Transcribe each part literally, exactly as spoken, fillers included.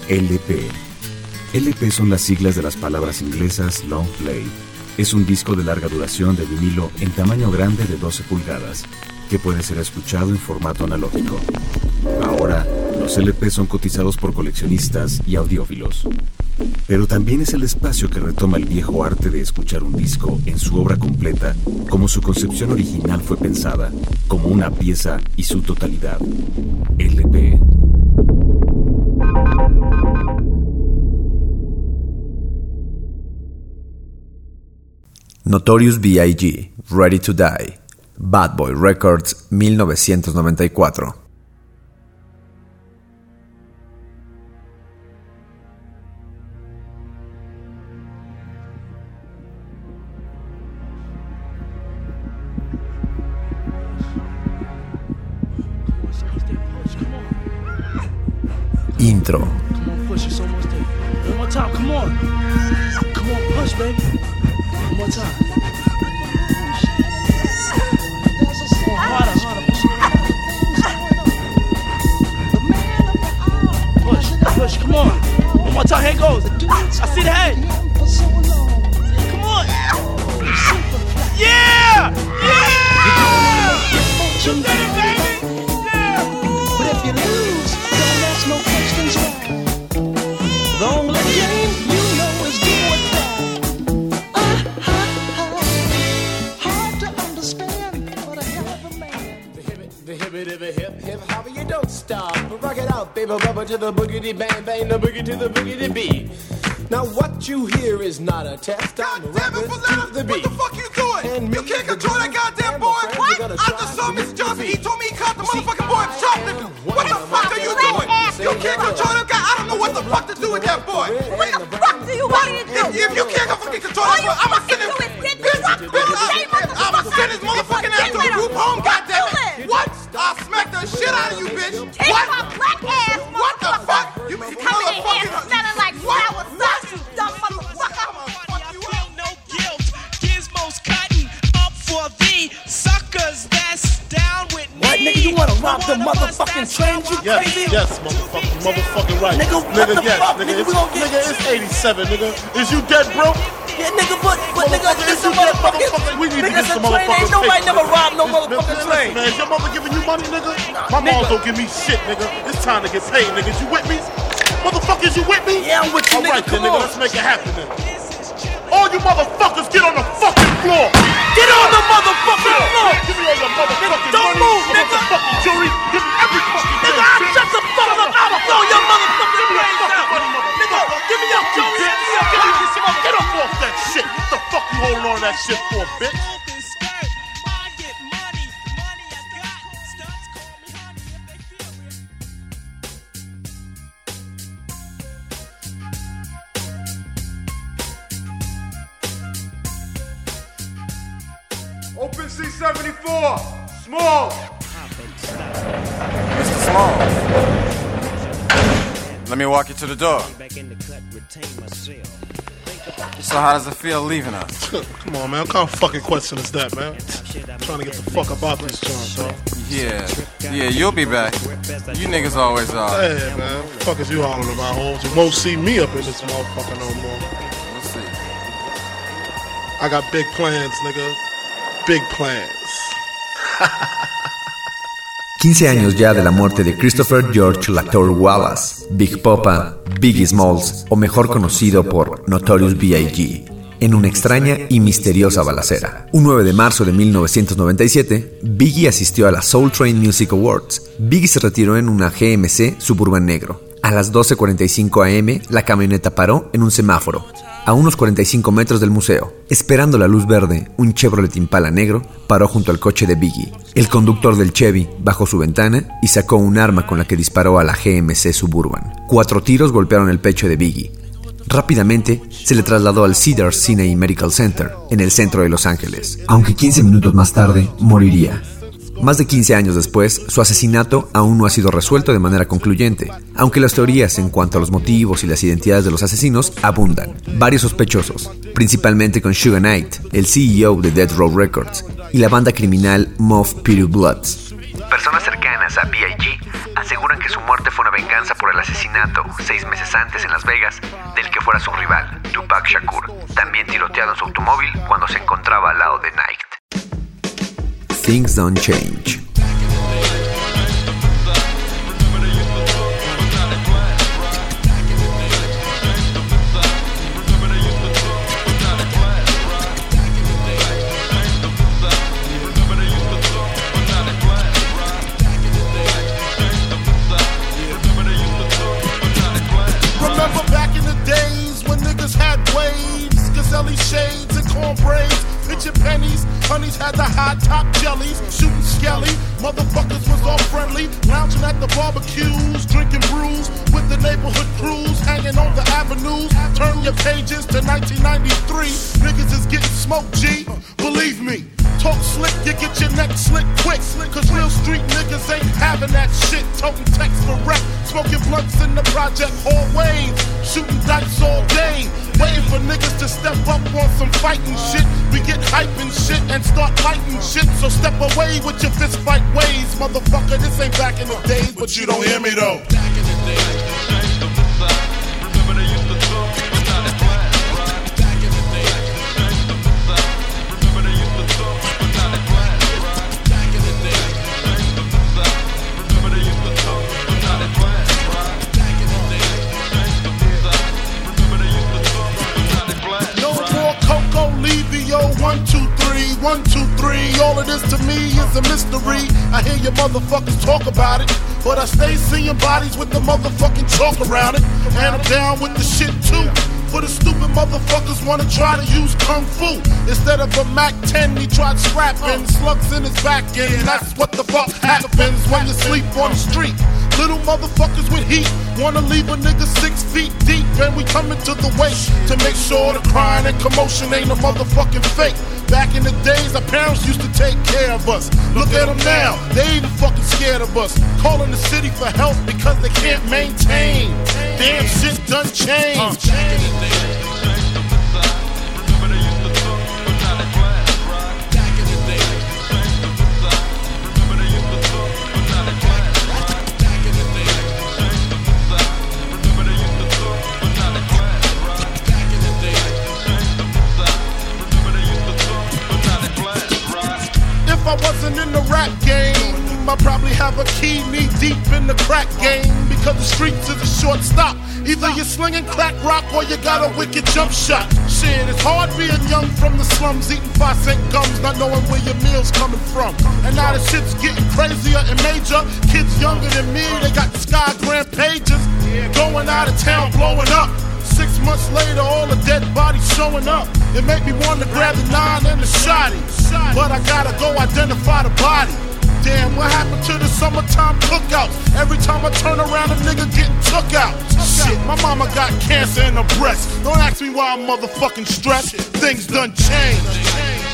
L P. L P son las siglas de las palabras inglesas Long Play. Es un disco de larga duración de vinilo en tamaño grande de doce pulgadas, que puede ser escuchado en formato analógico. Ahora, los L P son cotizados por coleccionistas y audiófilos. Pero también es el espacio que retoma el viejo arte de escuchar un disco en su obra completa, como su concepción original fue pensada, como una pieza y su totalidad. L P. Notorious B I G, Ready to Die, Bad Boy Records, mil novecientos noventa y cuatro. Intro. Come on, push, it's almost there. One more time, come on. Come on, push, baby. One more time. Oh, harder, harder. Push, push, come on. One more time, here it goes. I see the head. Come on. Yeah! Yeah! You did it, baby! Yeah! But if you lose, don't ask no questions why. The only game you know is do or die. Uh-huh. Hard to understand, but a hell of a man. The hip, the hip, the hip, hip, hopper, you don't stop. Rock it out, baby, rubber to the boogity bang bang, the boogie to the boogity beat. Now what you hear is not a test. God damn it, Valetta, the what the fuck you doing? You can't control that goddamn boy. What? I just saw Mister Johnson. He told me he caught the motherfucking boy shoplifting. What the fuck are you doing? You can't control that guy. I don't know what the fuck to do with that boy. What the fuck do you want me to do? If, if you can't fucking control that boy, I'ma send him. I'ma send his motherfucking ass to the group home. Goddamn it! What? I'll smack the shit out of you, bitch. Take What? my black ass. What the fuck? You Coming in here smelling like sour sauce, you dumb motherfucker. No guilt, Gizmo's cutting up for the suckers that's down with me. What, nigga, you wanna rob the motherfucking train, you Yes, crazy? yes, motherfucking, motherfucking right. Nigga, what nigga, the yes, fuck, nigga, nigga, it's, we gon' get- nigga, it's eighty-seven, nigga. Is you dead, bro? Yeah, nigga, but, but nigga, Motherfucker, this is you a dead, motherfucking, motherfucker? We need to nigga, get it's a some train. Ain't motherfucking nobody paper, never nigga. robbed no Listen, motherfucking listen, train. man, is your mother giving you money, nigga? My mom nigga. don't give me shit, nigga. It's time to get paid, niggas. You with me? Motherfuckers, you with me? Yeah, I'm with you, All nigga, right, then, come nigga, on. let's make it happen, then. All you motherfuckers, get on the fucking floor. Get on the motherfucking floor. Give me all your motherfucking Don't money, move, nigga. motherfucking jewelry. Give me every fucking Nigga, thing, I bitch. shut the fuck up. I'ma throw your motherfucking brains fucking out. money, Nigga, give me your jewelry. Give me your Get jewelry. up, get up off that shit. What the fuck you holding on to that shit for, bitch? Open skirt, I get money, money I got. Stunts call me honey if they feel real. Open C seventy-four. Small. Mister Small, let me walk you to the door. So how does it feel leaving us? Come on, man. What kind of fucking question is that, man? I'm trying to get the fuck up out this joint, dog. Yeah, yeah, you'll be back. You niggas always are. Hey, man. What the fuck is you hollering about, hoes? You won't see me up in this motherfucker no more. We'll see. I got big plans, nigga. Big plans. quince años ya de la muerte de Christopher George Latour Wallace, Big Poppa, Biggie Smalls, o mejor conocido por Notorious B I G, en una extraña y misteriosa balacera. Un nueve de marzo de mil novecientos noventa y siete, Biggie asistió a la Soul Train Music Awards. Biggie se retiró en una G M C Suburban negro. A las doce cuarenta y cinco a eme, la camioneta paró en un semáforo, a unos cuarenta y cinco metros del museo. Esperando la luz verde, un Chevrolet Impala negro paró junto al coche de Biggie. El conductor del Chevy bajó su ventana y sacó un arma con la que disparó a la G M C Suburban. Cuatro tiros golpearon el pecho de Biggie. Rápidamente se le trasladó al Cedars Sinai Medical Center, en el centro de Los Ángeles, aunque quince minutos más tarde moriría. Más de quince años después, su asesinato aún no ha sido resuelto de manera concluyente, aunque las teorías en cuanto a los motivos y las identidades de los asesinos abundan. Varios sospechosos, principalmente con Suge Knight, el C E O de Death Row Records, y la banda criminal Mob Pity Bloods. Personas cercanas a B I G aseguran que su muerte fue una venganza por el asesinato, seis meses antes en Las Vegas, del que fuera su rival, Tupac Shakur, también tiroteado en su automóvil cuando se encontraba al lado de Nike. Things Don't Change. Remember back in the days when niggas had waves, Gazelle shades and corn braids, pitching pennies, honeys had the high top jellies, shooting skelly, motherfuckers was all friendly, lounging at the barbecues, drinking brews with the neighborhood crews, hanging on the avenues. Turn your pages to nineteen ninety-three, niggas is getting smoked, G, believe me. Talk slick, you get your neck slick quick. Cause real street niggas ain't having that shit. Toting text for rep, smoking blunts in the project hallways, shooting dice all day, waiting for niggas to step up on some fighting shit. We get hype and shit and start lighting shit. So step away with your fist fight ways, motherfucker. This ain't back in the days, but you don't hear me though. Back in the days. One, two, three, one, two, three. All of this to me is a mystery. I hear you motherfuckers talk about it, but I stay seeing bodies with the motherfucking chalk around it. And I'm down with the shit too. For the stupid motherfuckers wanna try to use kung fu instead of a Mac ten, he tried scrapping slugs in his back end. That's what the fuck happens when you sleep on the street. Little motherfuckers with heat wanna leave a nigga six feet deep, and we coming to the waist to make sure the crying and commotion ain't a motherfucking fake. Back in the days, our parents used to take care of us. Look at them now, they even fucking scared of us. Calling the city for help because they can't maintain. Damn shit done changed. If I wasn't in the rap game, I'd probably have a key knee deep in the crack game, because the streets is a short stop. Either you're slinging crack rock or you got a wicked jump shot. Shit, it's hard being young from the slums, eating five cent gums, not knowing where your meal's coming from. And now the shit's getting crazier and major. Kids younger than me, they got the sky grand pages, going out of town, blowing up. Six months later, all the dead bodies showing up. It made me want to grab the nine and the shotty, but I gotta go identify the body. Damn, what happened to the summertime cookouts? Every time I turn around, a nigga getting took out. Shit, my mama got cancer in her breast. Don't ask me why I'm motherfucking stressed. Things done changed.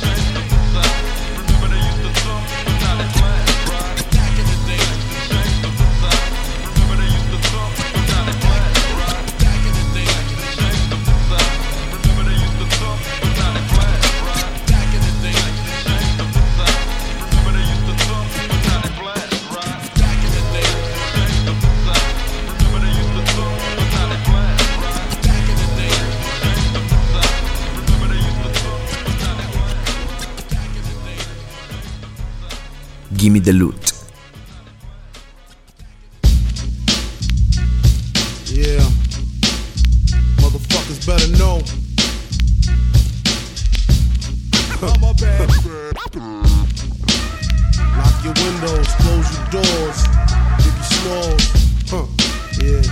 Gimme the Loot. Yeah, motherfuckers better know. Lock your windows, close your doors, Biggie Smalls. Huh, yeah.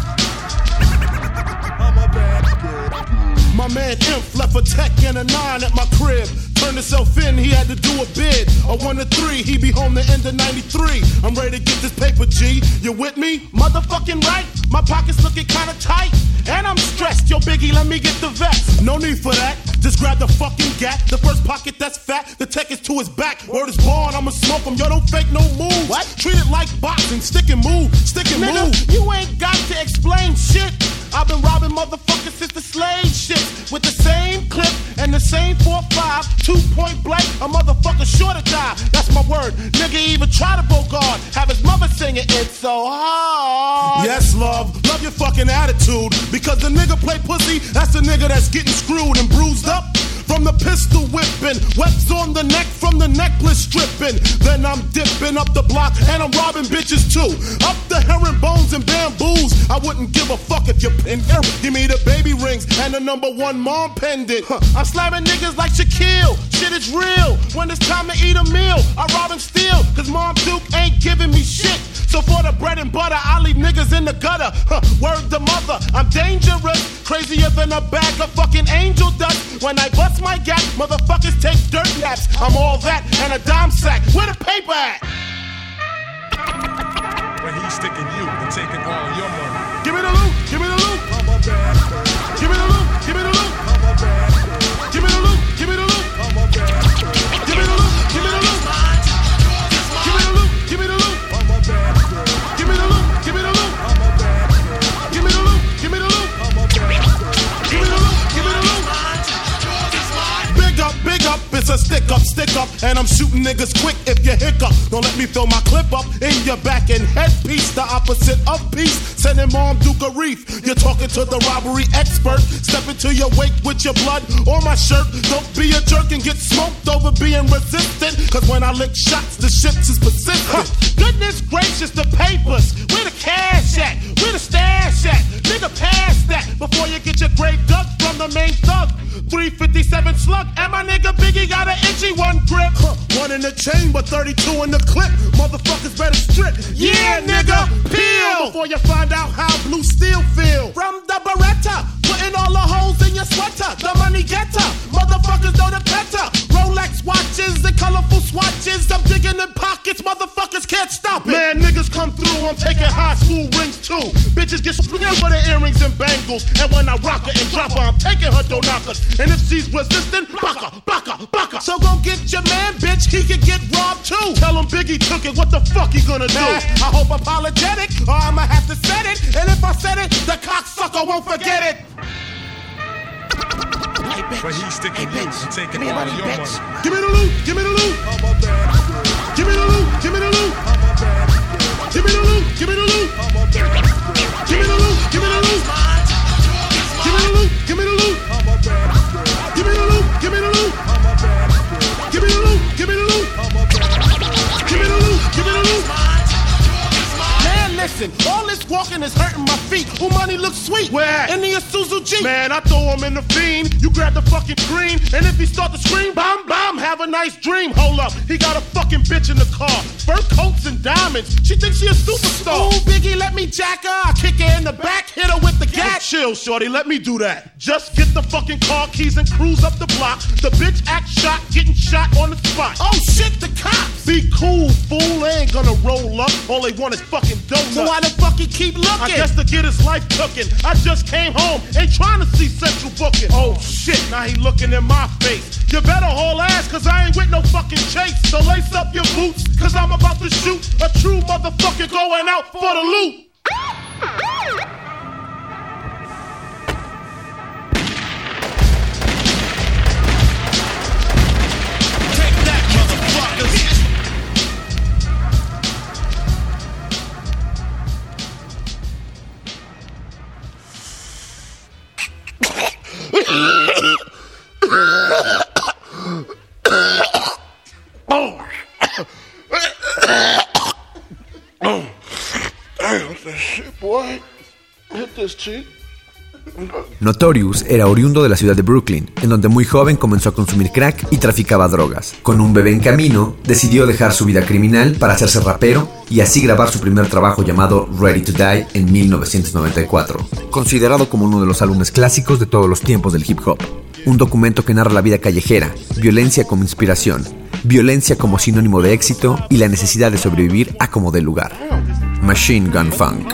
My man Imp left a tech and a nine at my crib. Turned himself in, he had to do a bid. A one to three, he be home the end of ninety-three. I'm ready to get this paper, G. You with me? Motherfucking right. My pockets looking kinda tight, and I'm stressed. Yo, Biggie, let me get the vest. No need for that. Just grab the fucking gat. The first pocket that's fat, the tech is to his back. Word is born, I'ma smoke him. Yo, don't fake no moves. What? Treat it like boxing. Stick and move. Stick and Nigga, move. You ain't got to explain shit. I've been robbing motherfuckers since the slave shit. With the same clip and the same four five. two point blank, a motherfucker sure to die. That's my word. Nigga even try to bogart, have his mother singing It's So Hard. Yes, love, love your fucking attitude. Because the nigga play pussy, that's the nigga that's getting screwed and bruised up. From the pistol whipping, webs on the neck from the necklace stripping. Then I'm dipping up the block and I'm robbing bitches too. Up the herringbones and bamboos. I wouldn't give a fuck if you're pin. Give me the baby rings and the number one mom pendant. Huh. I'm slamming niggas like Shaquille. Shit is real. When it's time to eat a meal, I rob and steal. Cause Mom Duke ain't giving me shit. So for the bread and butter, I leave niggas in the gutter. Huh. Word to mother, I'm dangerous. Crazier than a bag of fucking angel dust. When I bust my gap, motherfuckers take dirt naps. I'm all that and a dime sack. Where the paper at? When he's sticking you and taking all your money. Give me the loot, give me the loot. I'm a bad girl. Give me the loot, give me the loot. I'm a bad girl. Give me the loot, give me the loot. I'm a bad girl. Give me the loot, give me the loot. Give me the loot, give me the loot. I'm a bad girl. Give me the loot, give me the loot. I'm a bad girl. Give me the loot, give me the loot. I'm a bad girl. Give me the loot, give me the loot. Big up, big up, it's a stick up, stick up. And I'm shooting niggas quick if you hiccup. Don't let me throw my clip up in your back and headpiece. The opposite of peace, sending Mom Duke a reef. You're talking to the robbery expert. Step into your wake with your blood or my shirt. Don't be a jerk and get smoked over being resistant. Cause when I lick shots, the shit is persistent. Huh. Goodness gracious, the papers. Where the cash at? Where the stash at? Nigga, pass that before you get your grave dug from the main thug. three fifty-seven slug, and my nigga Biggie got an itchy one grip. Huh. One in the chamber, thirty-two in the clip. Motherfuckers better strip. Yeah, nigga, peel before you find out how blue steel feel. From the Beretta, putting all the holes in your sweater. The money getter, motherfuckers know the better. Rolex watches and colorful swatches. I'm digging in pockets, motherfuckers can't stop it. Man, niggas come through, I'm taking high school rings too. Bitches get split for the earrings and bangles. And when I rock her and drop her, I'm taking her dough knockers. And if she's resistant, baka, baka, baka. So go get your man, bitch, he could get robbed too. Tell him Biggie took it, what the fuck he gonna do? I hope apologetic, or I'ma have to set it. And if I said it, the cocksucker won't forget it. Hey, but he's sticking hey, you and taking all money, your bitch. money. Give me the loot, give me the loot. I'm a bad girl. Give me the loot, give me the loot. I'm a bad girl. Give me the loot, give me the loot. I'm a bad girl. Give me the loot, give me the loot. Give me the loot, give me the loot. I'm a bad girl. Give me the loot, give me the loot. I'm a bad girl. Give me the loot, give me the loot. I'm a bad girl. Give me the loot, give me the loot. Man, listen, all this walking is hurting my feet. Who money looks sweet? Where? In the Isuzu Jeep. Man, I throw him in the fiend. You grab the fucking green, and if he start to scream, bam, bam, have a nice dream. Hold up, he got a fucking bitch in the car. Fur coats and diamonds. She thinks she a superstar. Ooh, Biggie, let me jack her. I kick her in the back, hit her with the gat. Chill, shorty, let me do that. Just get the fucking car keys and cruise up the block. The bitch act shot, getting shot on the spot. Oh shit, the cops. Be cool, fool. They ain't gonna roll up. All they want is fucking donuts. So why the fuck he keep looking? I guess to get his life cooking. I just came home, ain't trying to see Central booking. Oh shit, now he looking in my face. You better haul ass, cause I ain't with no fucking chase. So lace up your boots, cause I'm about to shoot a true motherfucker going out for the loot. Take that, motherfuckers. Oh. Oh. Damn, that shit, boy. Hit this cheek. Notorious era oriundo de la ciudad de Brooklyn, en donde muy joven comenzó a consumir crack y traficaba drogas. Con un bebé en camino, decidió dejar su vida criminal para hacerse rapero y así grabar su primer trabajo llamado Ready to Die en mil novecientos noventa y cuatro, considerado como uno de los álbumes clásicos de todos los tiempos del hip hop. Un documento que narra la vida callejera, violencia como inspiración, violencia como sinónimo de éxito y la necesidad de sobrevivir a como dé lugar. Machine Gun Funk.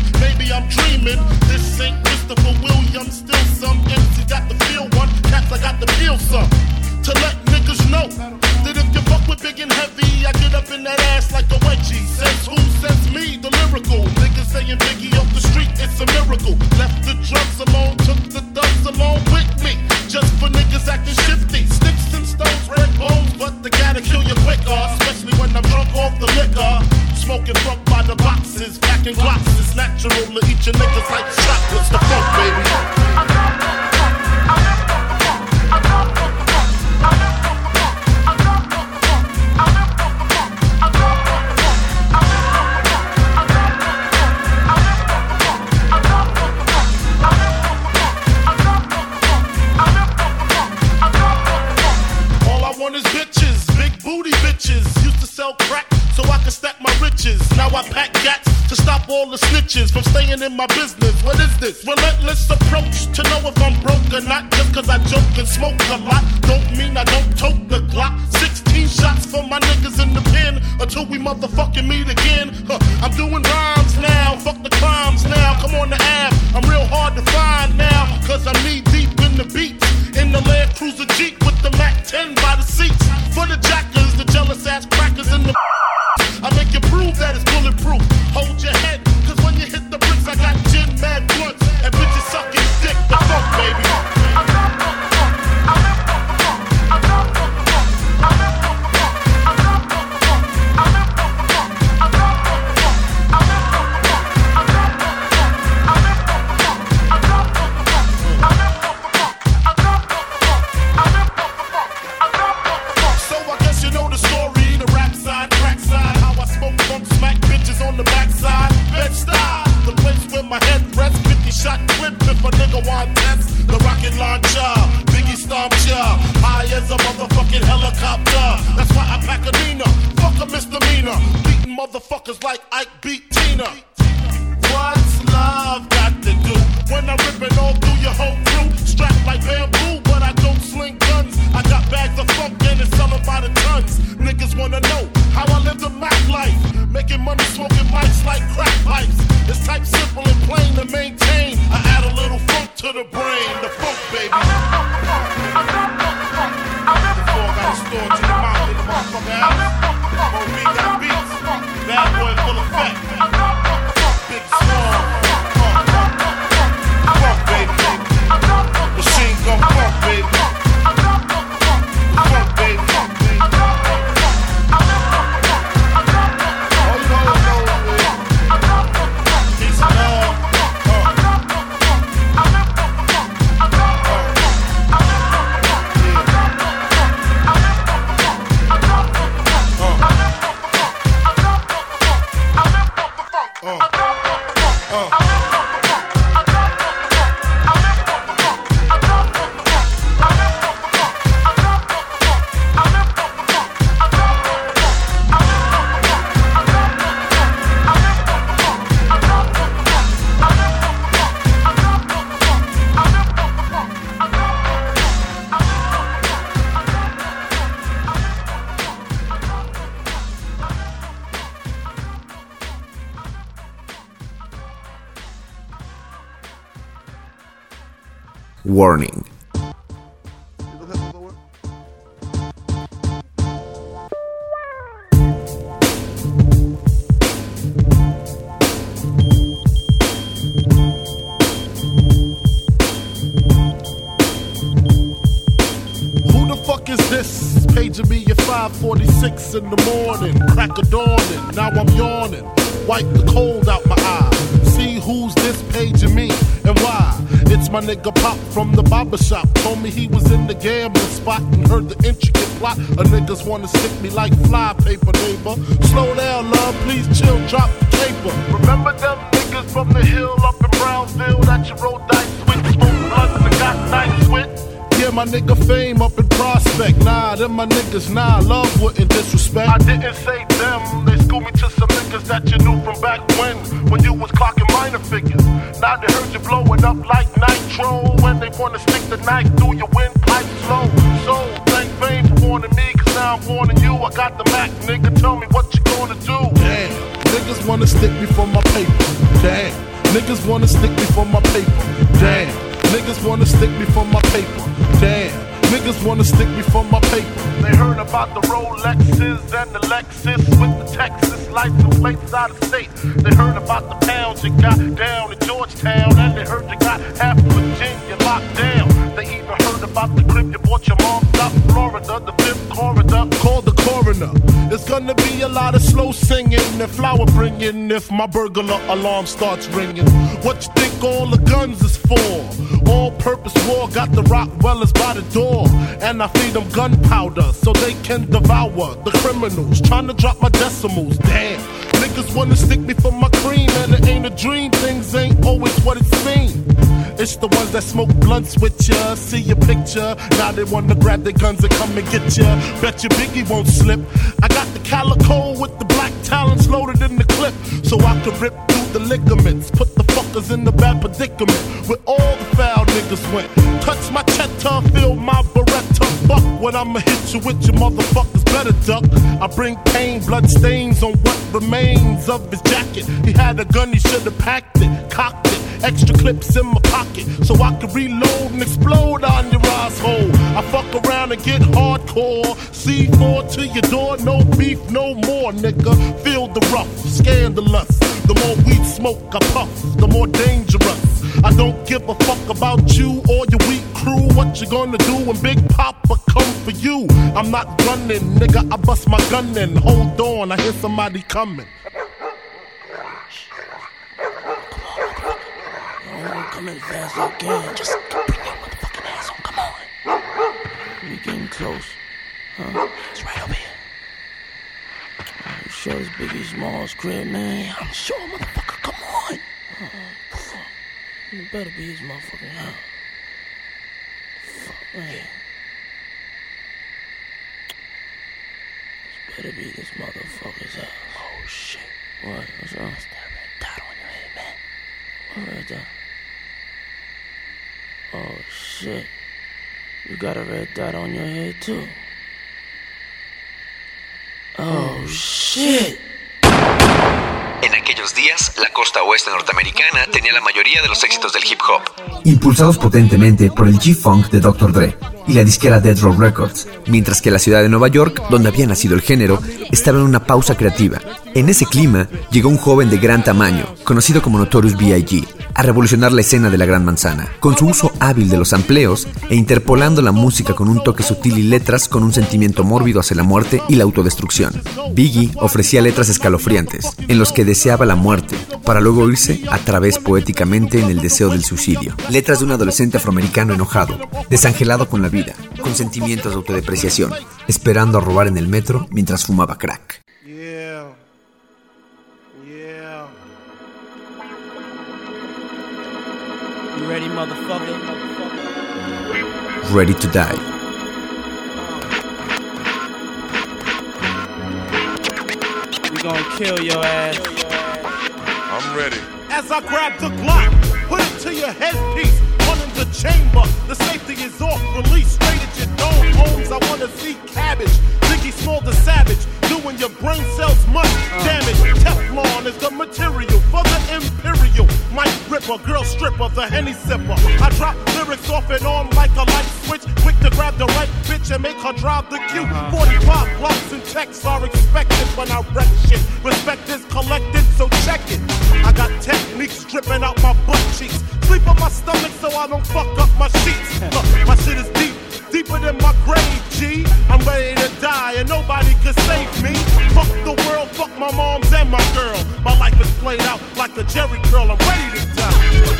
This ain't Christopher Williams, still some empty. Got the feel one. Cats, I got niggas along with me. Just for niggas acting shifty. Sticks and stones, red bones, but they gotta kill you quicker. Especially when I'm drunk off the liquor. Smoking funk by the boxes, packing glocks. It's natural to eat your niggas like chocolates. The funk, baby. I pack gats to stop all the snitches from staying in my business. What is this? Relentless approach to know if I'm broke or not. Just cause I joke and smoke a lot don't mean I don't tote the Glock. Sixteen shots for my niggas in the pen until we motherfucking meet again. Huh, I'm doing rhymes now, fuck the crimes now. Come on the app, I'm real hard to find now. Cause I'm knee deep in the beats. In the Land Cruiser Jeep with the Mac ten by the seats. For the jackers, the jealous ass crackers in the I make you prove that it's bulletproof. Hold your head, cause when you hit the bricks, I got gin, mad blunts, and bitches sucking dick. The funk, baby. So I guess you know the story, the rap side, crack side. Funk smack bitches on the backside. Bed-Stuy, the place where my head rests. fifty shot clip if a nigga want test. The rocket launcher, Biggie stomp ya. High as a motherfucking helicopter. That's why I pack a Nina. Fuck a misdemeanor. Beating motherfuckers like Ike beat Tina. What's love got to do? When I rip it all through your whole crew. Strapped like bamboo, but I don't sling guns. I got bags of funk and it's selling by the tons. Niggas wanna know how I live the Mac life. Making money, smoking mics like crack pipes. It's type simple and plain to maintain. I add a little funk to the brain. The funk, baby. Before I got a store to the mouth in the motherfucker house. O B got beats. Bad boy full effect. Big song. Funk, baby. Machine gun funk, baby. Funk, baby. Warning. Paging me at five forty-six in the morning, crack of dawning, now I'm yawning. Wipe the cold out my eye. See who's this paging me and why. It's my nigga Pop from the barber shop. Told me he was in the gambling spot and heard the intricate plot. A niggas wanna stick me like fly paper, neighbor. Slow down, love, please chill, drop the paper. Remember them niggas from the hill up in Brownsville that you rolled dice with, smoked blunts and got nice with? Yeah, my nigga Fame up in Prospect. Nah, them my niggas, nah, love wouldn't disrespect. I didn't say them, they schooled me to some niggas that you knew from back when, when you was clocking minor figures. Now they heard you blowing up like nitro, when they wanna stick the knife through your windpipe slow. So, thank Fame for warning me, cause now I'm warning you. I got the Mac, nigga, tell me what you gonna do. Damn, niggas wanna stick me for my paper. Damn, niggas wanna stick me for my paper. Damn. Niggas wanna stick me for my paper. Damn, niggas wanna stick me for my paper. They heard about the Rolexes and the Lexus with the Texas license plates out of state. They heard about the pounds you got down in Georgetown, and they heard you got half of Virginia locked down. singing if my burglar alarm starts ringing. What you think all the guns is for? All-purpose war got the Rockwellers by the door, and I feed them gunpowder so they can devour the criminals trying to drop my decimals. Damn, niggas wanna stick me for my cream, and it ain't a dream. Things ain't always what it seems. It's the ones that smoke blunts with ya, see your picture, now they wanna grab their guns and come and get ya. Bet your Biggie won't slip. I got the calico with the black talons loaded in the clip, so I can rip through the ligaments, put the fuckers in the bad predicament where all the foul niggas went. Touch my cheddar, feel my Beretta, buck when I'ma hit you with your motherfuckers better duck. I bring pain, blood stains on what remains of his jacket. He had a gun, he should've packed it, cocked it. Extra clips in my pocket so I can reload and explode on your asshole. I fuck around and get hardcore. C four to your door, no beef, no more, nigga. Feel the rough, scandalous. The more weed smoke I puff, the more dangerous. I don't give a fuck about you or your weak crew. What you gonna do when Big Papa come for you? I'm not gunning, nigga, I bust my gun in. Hold on, I hear somebody coming. Come as fast as I can. Just bring your motherfucking ass on. Come on. We getting close. Huh? It's right over here. Are you sure it's Biggie Smalls' crib, man? Yeah, I'm sure, motherfucker. Come on. Uh, you better be his motherfucking house. Fuck, man. This better be this motherfucker's house. Oh, shit. What? What's wrong? What's that red dot on your head, man? What red dot? Oh shit, you got a red dot on your head too. Oh shit. En aquellos días, la costa oeste norteamericana tenía la mayoría de los éxitos del hip hop, impulsados potentemente por el G-Funk de doctor Dre y la disquera Death Row Records, mientras que la ciudad de Nueva York, donde había nacido el género, estaba en una pausa creativa. En ese clima, llegó un joven de gran tamaño, conocido como Notorious B I G, a revolucionar la escena de la Gran Manzana, con su uso hábil de los sampleos e interpolando la música con un toque sutil y letras con un sentimiento mórbido hacia la muerte y la autodestrucción. Biggie ofrecía letras escalofriantes, en los que deseaba la muerte, para luego irse a través poéticamente en el deseo del suicidio. Letras de un adolescente afroamericano enojado, desangelado con la vida, con sentimientos de autodepreciación, esperando a robar en el metro mientras fumaba crack. Yeah. Yeah. You ready, motherfucker? Ready to die. We gonna kill your ass. I'm ready. As I grab the Glock, put it to your headpiece, run in the chamber. The safety is off, release straight at your dome. Homes, I wanna see cabbage. Biggie Small the Savage, doing your brain cells much damage. Teflon is the material for the imperial. Mike Ripper, girl stripper, the Henny sipper. I drop lyrics off and on like a light switch, quick to grab the right bitch and make her drive the queue. forty-five blocks and texts are expected when I wreck shit. Respect is collected, so check it. I got techniques dripping out my butt cheeks. Sleep on my stomach so I don't fuck up my sheets. Look, my shit is deep, deeper than my grave, G. I'm ready to die and nobody can save me. Fuck the world, fuck my moms and my girl. My life is played out like a Jerry curl. I'm ready to die.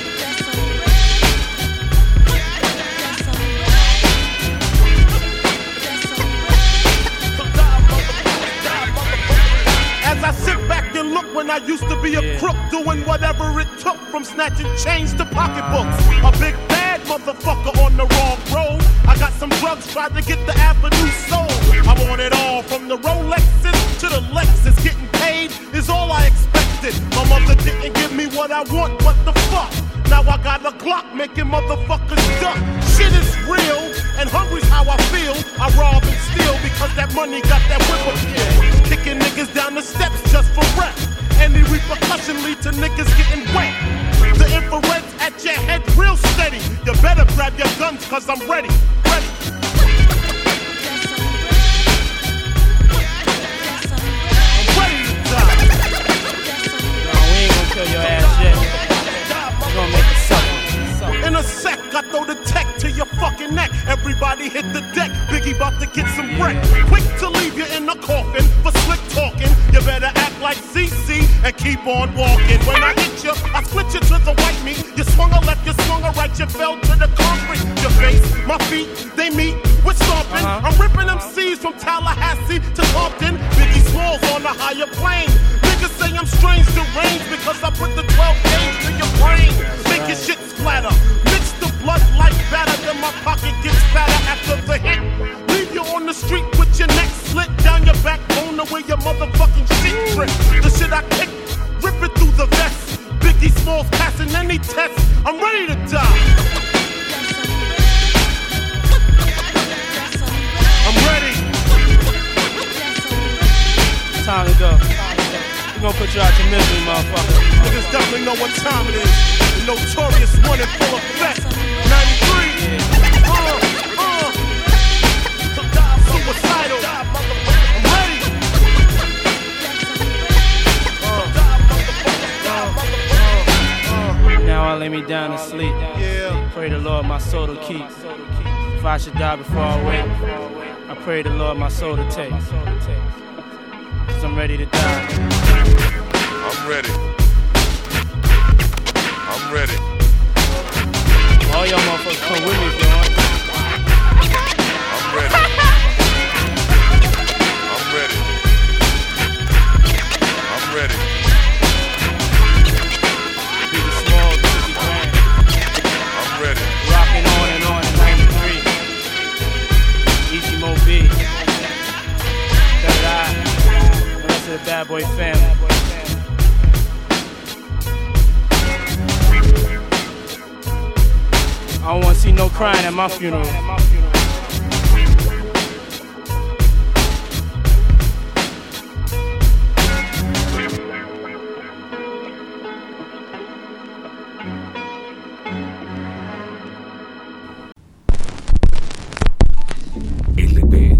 As I sit back and look when I used to be a yeah. crook, doing whatever it took from snatching chains to pocketbooks. A big bad motherfucker on the wrong road. I got some drugs, tried to get the avenue sold. I want it all, from the Rolexes to the Lexus. Getting paid is all I expected. My mother didn't give me what I want, what the fuck? Now I got a Glock making motherfuckers duck. Shit is real, and hungry's how I feel. I rob and steal because that money got that whip appeal. Kicking niggas down the steps just for rep. Any repercussion lead to niggas getting wet. The infrared's at your head real steady. You better grab your guns cause I'm ready, ready. I'm ready to die. No, we ain't gonna kill your ass yet. We gonna make it suck. In a sec, I throw the tech to your fucking neck. Everybody hit the deck, Biggie about to get some wreck. Quick to leave you in the coffin for slick talking. You better act like C C on walking. When I hit you, I split you to the white meat. You swung a left, you swung a right, you fell to the concrete. Your face, my feet, they meet with stomping. Uh-huh. I'm ripping them C's from Tallahassee to Compton. Biggie Smalls on the higher plane. Niggas say I'm strange, deranged because I put the twelve gauge to your brain. Make your shit splatter. Mix the blood like batter, then my pocket gets fatter after the hit. Leave you on the street with your neck slit down your backbone to where your motherfucking shit trip. The shit I kick, rip it through the vest. Biggie Smalls passing any test. I'm ready to die. I'm ready. Time to go. We gonna put you out your misery, motherfucker. Niggas definitely know what time it is. The notorious one in full effect. ninety-three. Yeah. Uh, uh. Suicidal. I'm ready. Uh, uh, uh, now I lay me down to sleep. Yeah. Pray the Lord my soul to keep. If I should die before I wake, I pray the Lord my soul to take. Cause I'm ready to die. I'm ready. I'm ready. All y'all motherfuckers come with me if you want. I'm ready. I'm ready. I'm ready. Be the small, fifty grand. I'm ready. Rocking on and on in ninety-three. Easy Mo B. Third Eye. The rest of the Bad Boy family. I don't wanna see no crying at my funeral. L P.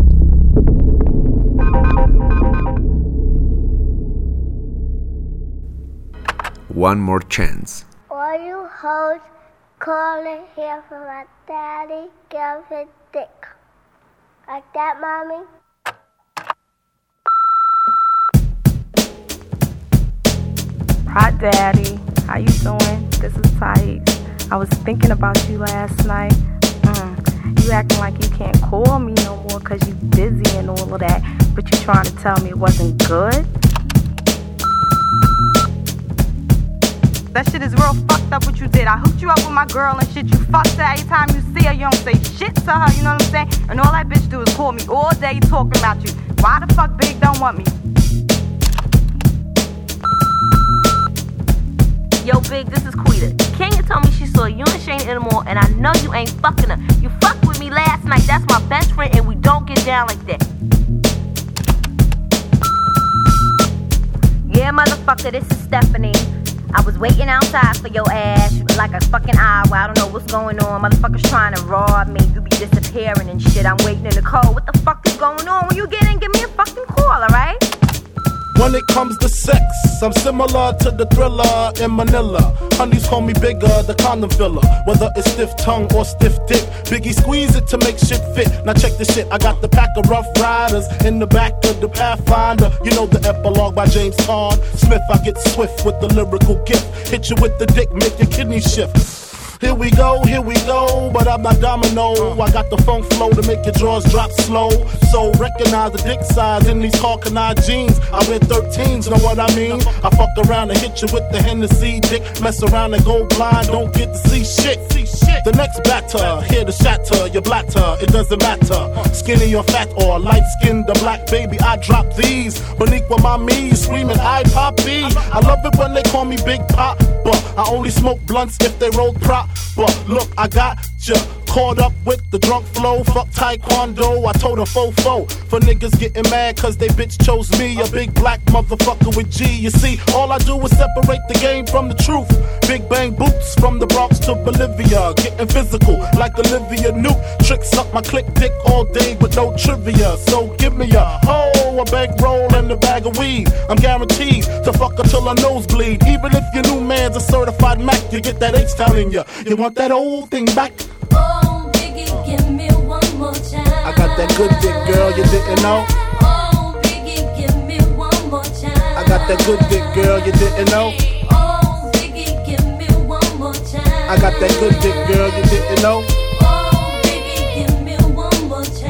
One More Chance. All you hoes calling here for my daddy, give his dick. Like that, mommy? Hi, Daddy. How you doing? This is Thais. I was thinking about you last night. Mm. You acting like you can't call me no more because you busy and all of that, but you trying to tell me it wasn't good? That shit is real fucked up what you did. I hooked you up with my girl and shit. You fucked her every time you see her. You don't say shit to her, you know what I'm saying? And all that bitch do is call me all day talking about you. Why the fuck Big don't want me? Yo, Big, this is Quita. Kenya told me she saw you and Shane in the mall, and I know you ain't fucking her. You fucked with me last night. That's my best friend, and we don't get down like that. Yeah, motherfucker, this is Stephanie. I was waiting outside for your ass like a fucking hour. I don't know what's going on. Motherfuckers trying to rob me. You be disappearing and shit. I'm waiting in the cold. What the fuck is going on? When you get in, give me a fucking call, alright? When it comes to sex, I'm similar to the Thriller in Manila. Honeys call me bigger, the condom filler. Whether it's stiff tongue or stiff dick, Biggie squeeze it to make shit fit. Now check this shit, I got the pack of Rough Riders in the back of the Pathfinder. You know the epilogue by James Todd Smith. I get swift with the lyrical gift. Hit you with the dick, make your kidney shift. Here we go, here we go, but I'm not domino. I got the funk flow to make your drawers drop slow. So recognize the dick size in these Hawkeneye jeans. I wear thirteens, know what I mean? I fuck around and hit you with the Hennessy dick. Mess around and go blind, don't get to see shit. The next batter, here to shatter your blatter, it doesn't matter. Skinny or fat or light skinned or black, baby, I drop these. Boniqua mommy, screaming, I poppy. I love it when they call me Big Pop, but I only smoke blunts if they roll prop. But look, I got ya caught up with the drunk flow. Fuck taekwondo, I told a fofo. For niggas getting mad cause they bitch chose me. A big black motherfucker with G. You see, all I do is separate the game from the truth. Big bang boots from the Bronx to Bolivia. Getting physical like Olivia Newt. Tricks up my click dick all day with no trivia. So give me a hoe, a bankroll and a bag of weed. I'm guaranteed to fuck her till her nose bleed. Even if your new man's a certified Mac, you get that H-Town in ya. You want that old thing back? Oh, Biggie, give me one more chance. I got that good dick, girl, you didn't know. Oh, Biggie, give me one more chance. I I got that good dick, girl, you didn't know? Oh, Biggie, give me one more time. I got that good dick, girl, you didn't know? Oh, Biggie, give me one more time.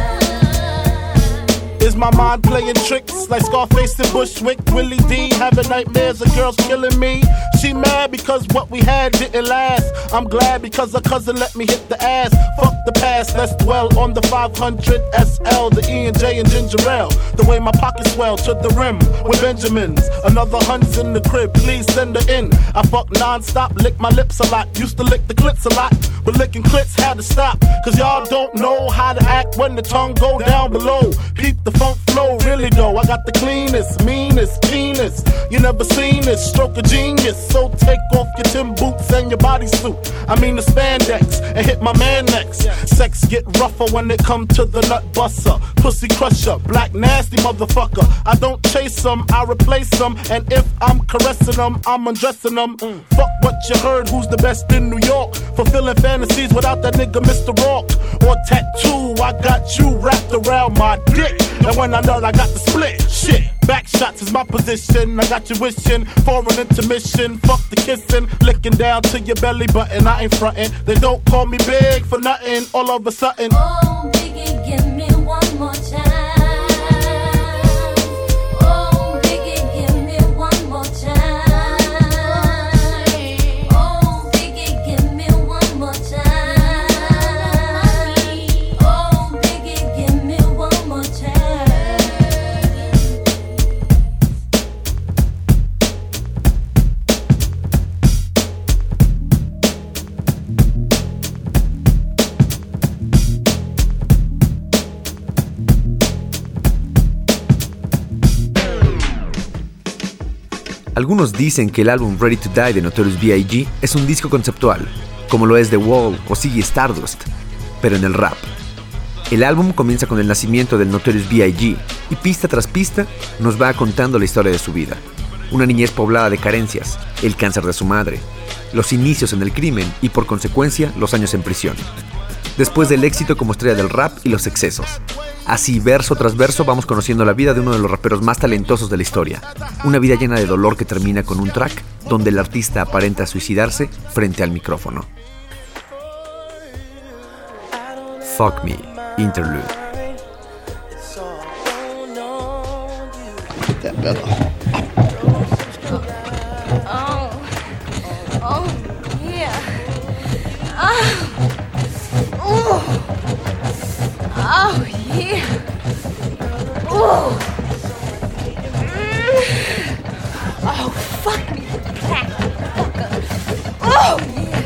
Is my mind playing tricks like Scarface and Bushwick? Willie D having nightmares of girls killing me. She mad because what we had didn't last. I'm glad because her cousin let me hit the ass. Fuck the past, let's dwell on the five hundred S L, the E and J and ginger ale. The way my pockets swell to the rim with Benjamins. Another hund's in the crib, please send her in. I fuck non-stop, lick my lips a lot. Used to lick the clits a lot, but licking clits had to stop. Cause y'all don't know how to act when the tongue go down below. Keep the funk flow, really though. I got the cleanest, meanest penis. You never seen this, stroke of genius. So take off your Tim boots and your bodysuit. I mean the spandex, and hit my man next. Sex get rougher when it come to the nut buster. Pussy crusher, black nasty motherfucker. I don't chase them, I replace them. And if I'm caressing them, I'm undressing them. Mm. Fuck what you heard, who's the best in New York? Fulfilling fantasies without that nigga Mister Rock. Or tattoo, I got you wrapped around my dick. And when I nut, I got the split. Shit, back shots is my position. I got you wishing for an intermission. Fuck the kissing, licking down to your belly button. I ain't frontin'. They don't call me big for nothing. All of a sudden, Oh, Biggie, give me one more time. Oh, Biggie, give me one more time. Oh, Biggie, give me one more time. Oh, Biggie, give me one more time. Algunos dicen que el álbum Ready to Die de Notorious B I G es un disco conceptual, como lo es The Wall o Ziggy Stardust, pero en el rap. El álbum comienza con el nacimiento del Notorious B I G y pista tras pista nos va contando la historia de su vida. Una niñez poblada de carencias, el cáncer de su madre, los inicios en el crimen y por consecuencia los años en prisión. Después del éxito como estrella del rap y los excesos. Así, verso tras verso, vamos conociendo la vida de uno de los raperos más talentosos de la historia. Una vida llena de dolor que termina con un track donde el artista aparenta suicidarse frente al micrófono. Fuck Me, Interlude. Oh, oh, yeah. Oh, oh, oh, yeah. Oh, oh, fuck me, black fucker. Oh, yeah.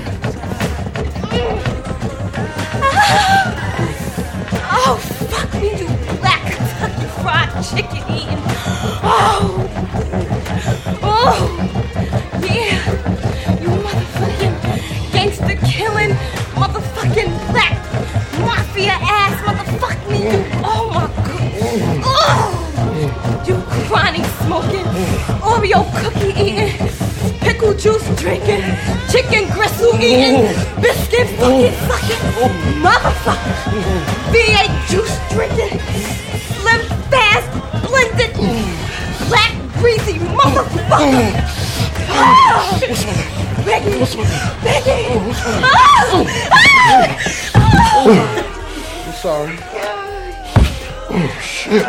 Oh, fuck me, you black Kentucky fried chicken eating. Oh, oh, yeah. You motherfucking gangster killing, motherfucking black mafia ass motherfuck me. You, oh my god. Oh, you chronic smoking, Oreo cookie eating, pickle juice drinking, chicken gristle eating, biscuit fucking fucking motherfucker. V eight juice drinking, slim fast blended, black greasy motherfucker. Oh, Becky, Becky. Oh, oh, oh. I'm sorry. Oh, shit.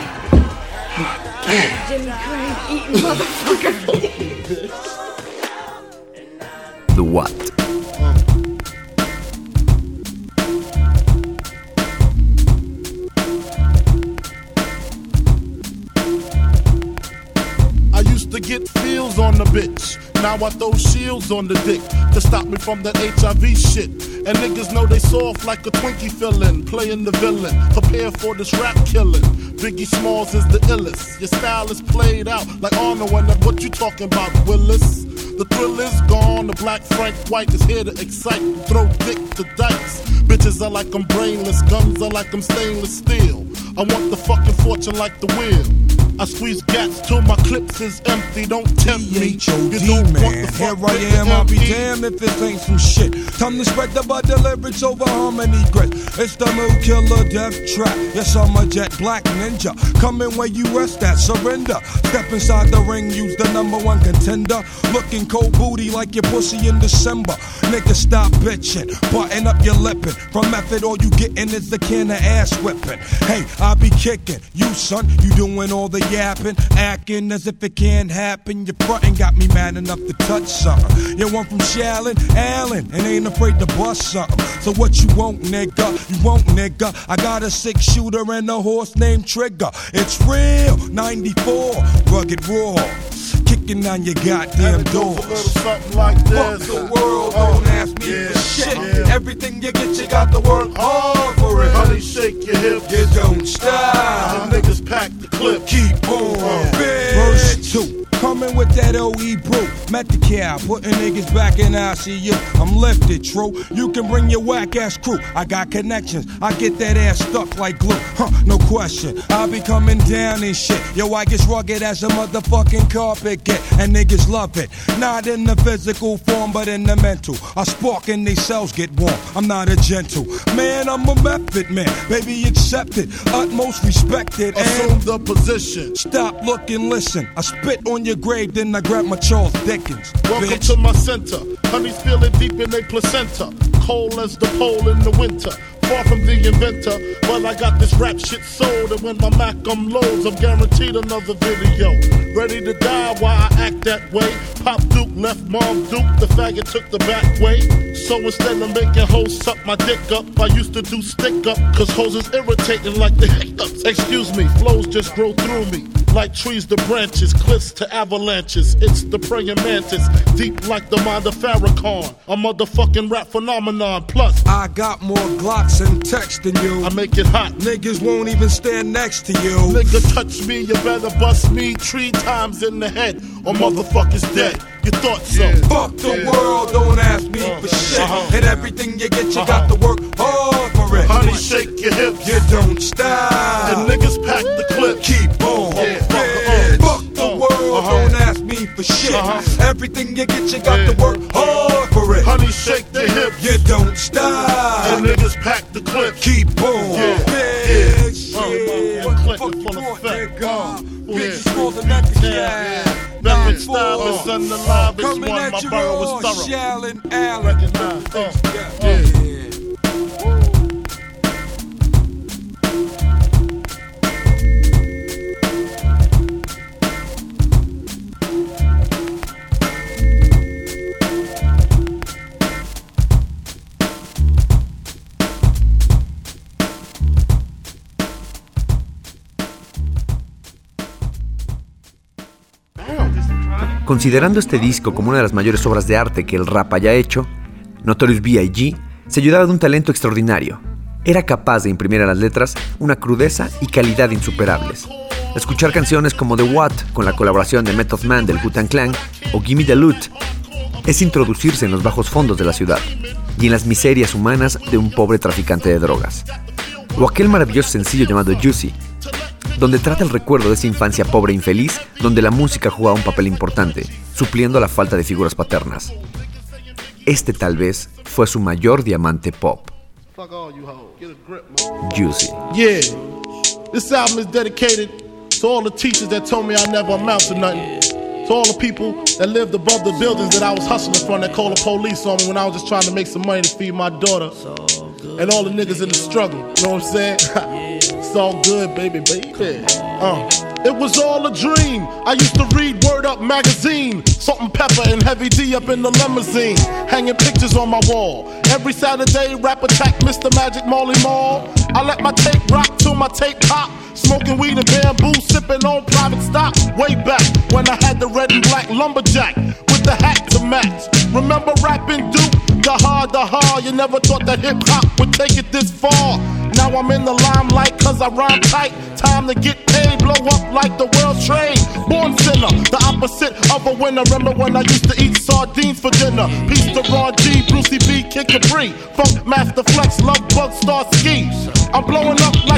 Jimmy Craig eating motherfucker. The What? I used to get feels on the bitch. Now I throw shields on the dick to stop me from that H I V shit. And niggas know they soft like a Twinkie fillin', playing the villain. Prepare for this rap killing. Biggie Smalls is the illest. Your style is played out like Arnold when that what you talking about, Willis? The thrill is gone, the black Frank White is here to excite. Throw dick to dice. Bitches are like I'm brainless, guns are like I'm stainless steel. I want the fucking fortune like the wheel. I squeeze gats till my clips is empty. Don't tempt me. You don't man. want the fuck Here I am, I'll be damned if this ain't some shit. Time to spread the bud lyrics over harmony grit. It's the Mood Killer Death Trap. Yes, I'm a jet black ninja. Coming where you rest at, surrender. Step inside the ring, use the number one contender. Looking cold booty like your pussy in December. Nigga, stop bitching, button up your lippin'. From method, all you gettin' is a can of ass whipping. Hey, I be kicking. You, son, you doing all the yapping, acting as if it can't happen. Your frontin' got me mad enough to touch something. You want from Shallon, Allen, and ain't afraid to bust something. So what you want, nigga? You want, nigga? I got a six shooter and a horse named Trigger. It's real, ninety-four, rugged raw. Kicking on your goddamn doors. Something like this. Fuck the world, don't ask me yeah, for shit. Yeah. Everything you get, you got to work hard for it. Honey, shake your hips. You don't stop. The niggas pack the clip. Keep on, uh, bitch. Verse two. Coming with that O E brew. Met the cow, putting niggas back in I C U. I'm lifted, true. You can bring your whack ass crew. I got connections. I get that ass stuck like glue. Huh, no question. I'll be coming down and shit. Yo, I get rugged as a motherfucking carpet get. And niggas love it. Not in the physical form, but in the mental. I spark and they cells get warm. I'm not a gentle man, I'm a method man. Baby, accept it. Utmost respected. Assume the position. Stop, look, and listen. I spit on your grave, then I grab my Charles Dickens. Welcome bitch. to my center. Honey's feeling deep in their placenta. Cold as the pole in the winter. Far from the inventor, but I got this rap shit sold. And when my Mac unloads, I'm guaranteed another video. Ready to die while I act that way. Pop Duke left Mom Duke, the faggot took the back way. So instead of making hoes suck my dick up, I used to do stick up, cause hoes is irritating like the hiccups. Excuse me, flows just grow through me. Like trees to branches, cliffs to avalanches. It's the praying mantis, deep like the mind of Farrakhan. A motherfucking rap phenomenon. Plus, I got more Glocks and text than you. I make it hot. Niggas won't even stand next to you. Nigga touch me, you better bust me three times in the head, or motherfucker's dead. You thought so? Yeah. Fuck the yeah. world, don't ask me uh, for shit. Uh-huh. And everything you get, you uh-huh. got to work hard for it. Honey, shake your hips. You don't stop. And niggas pack the clip. Keep on. Yeah. Yeah. Fuck the uh, world, uh-huh. don't ask me for shit. Uh-huh. Everything you get, you got yeah. to work hard for it. Honey, shake the hips. You don't stop. And niggas pack the clip. Keep on. Yeah. Bitch. Yeah. Yeah. What the fuck you full of fat? Bitch, more than that to yeah. Method style is on the live. It's one. My borough was thorough. Shallon, Allen. Recognize. Uh, yeah. yeah. Considerando este disco como una de las mayores obras de arte que el rap haya hecho, Notorious B I G se ayudaba de un talento extraordinario. Era capaz de imprimir a las letras una crudeza y calidad insuperables. Escuchar canciones como The What, con la colaboración de Method Man del Wu-Tang Clan, o Gimme the Loot, es introducirse en los bajos fondos de la ciudad y en las miserias humanas de un pobre traficante de drogas. O aquel maravilloso sencillo llamado Juicy, donde trata el recuerdo de esa infancia pobre e infeliz, donde la música jugaba un papel importante, supliendo la falta de figuras paternas. Este tal vez fue su mayor diamante pop. Juicy. Yeah, this album is dedicated to all the teachers that told me I never amount to nothing. To all the people that lived above the buildings that I was hustling from that called the police on me when I was just trying to make some money to feed my daughter. And all the niggas in the struggle, you know what I'm saying? It's all good, baby, baby. Uh. It was all a dream. I used to read Word Up magazine, Salt and Pepper and Heavy D up in the limousine, hanging pictures on my wall. Every Saturday, Rap Attack, Mister Magic Marley Marl. I let my tape rock till my tape pop. Smoking weed and bamboo, sipping on private stock. Way back when I had the red and black lumberjack with the hat to match. Remember rapping Duke? The hard, the hard. You never thought that hip hop would take it this far. Now I'm in the limelight cause I rhyme tight. Time to get paid, blow up like the world's trade. Born sinner, the opposite of a winner. Remember when I used to eat sardines for dinner? Peace to Ron G, Brucey B, Kid Capri, Funk Master Flex, Love Bug, Star Ski. I'm blowing up like you thought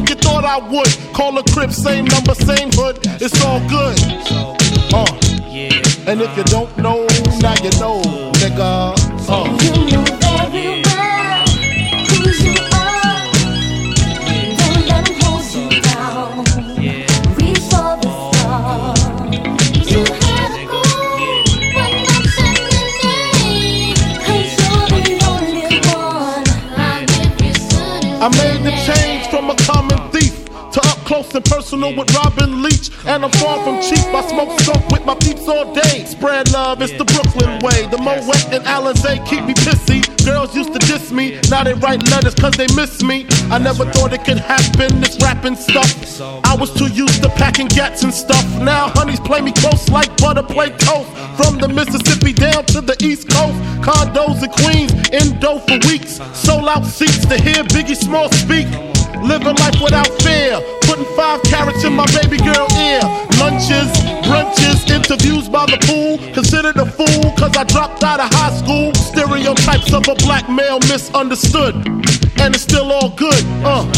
I would. Call a crib, same number, same hood. It's all good. Uh. And if you don't know, now you know, nigga. Uh. You know very well who you are. Don't let them hold you down. Reach for the stars. You had a goal, but nothing remained. 'Cause you're the only one. I made the change from a common thief to up close and personal with Robin Leach. And I'm far from cheap. I smoke skunk with my peeps all day. Spread love, it's the Brooklyn way. The Moet and Alizé keep me pissy. Girls used to diss me, now they write letters cause they miss me. I never thought it could happen, this rapping stuff. I was too used to packing gats and stuff. Now honeys play me close like butter play toast. From the Mississippi down to the East Coast. Condos in Queens, indo for weeks. Sold out seats to hear Biggie Small speak. Living life without fear, putting five carats in my baby girl ear. Lunches, brunches, interviews by the pool. Considered a fool cause I dropped out of high school. Stereotypes of a black male misunderstood. And it's still all good, uh.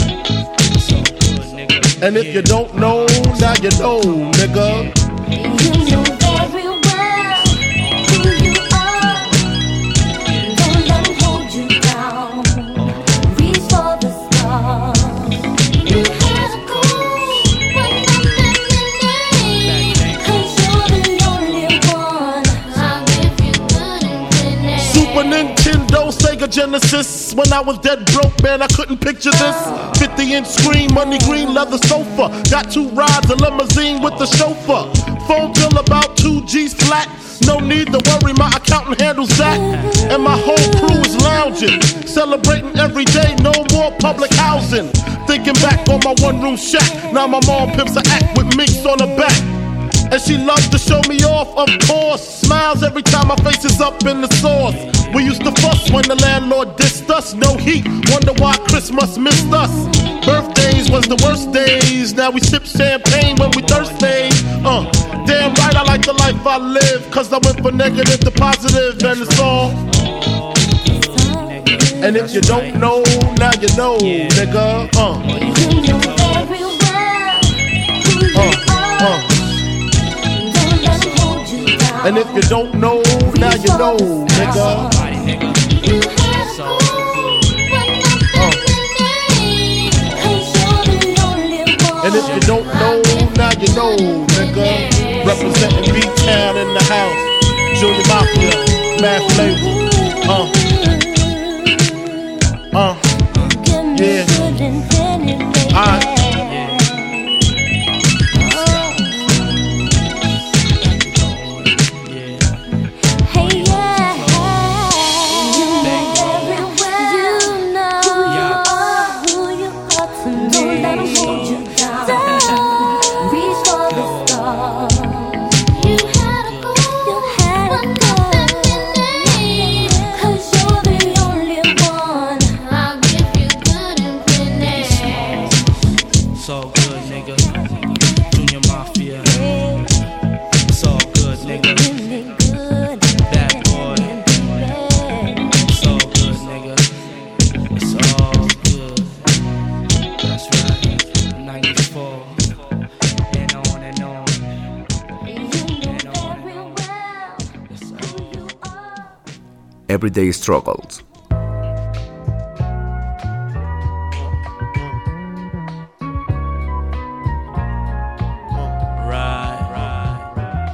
And if you don't know, now you know, nigga. You know very well who you are. Don't let them hold you down. Reach for the stars. You had a goal, but nothing remained. 'Cause you're the only one. I'll give you good and finish. Super Nintendo, Sega Genesis. When I was dead broke, man, I couldn't picture this. fifty inch screen, money green leather sofa. Got two rides, a limousine with the chauffeur. Phone bill about two G's flat. No need to worry, my accountant handles that. And my whole crew is lounging, celebrating every day, no more public housing. Thinking back on my one room shack. Now my mom pimps a act with minks on her back. And she loves to show me off, of course. Smiles every time my face is up in the sauce. We used to fuss when the landlord dissed us. No heat, wonder why Christmas missed us. Birthdays was the worst days. Now we sip champagne when we thirsty. Uh, damn right I like the life I live. Cause I went from negative to positive and it's all. And if you don't know, now you know, nigga. Uh. You know very well who you Uh, uh. are. Don't let them hold you down. And if you don't know, now you know, nigga. You had a goal, but nothing remained. 'Cause you're the only one. And if you don't know, now you know, nigga. Representing B-Town in the house. Junior Mafia, Mad Flavor. Uh. Uh. Yeah. Alright. Hey, yeah. You know very well. You know who you are, who you are to me. Don't let them hold you down. Reach for the stars. You had a goal, you had a goal. 'Cause you're the only one. I'll give you good and finish. It's all good, nigga. Junior Mafia. It's all good, nigga. Bad boy. It's all good, nigga. It's all good. That's right. ninety-four. And on and on. And on and on. Yes, sir. Everyday Struggles. Right, right, right.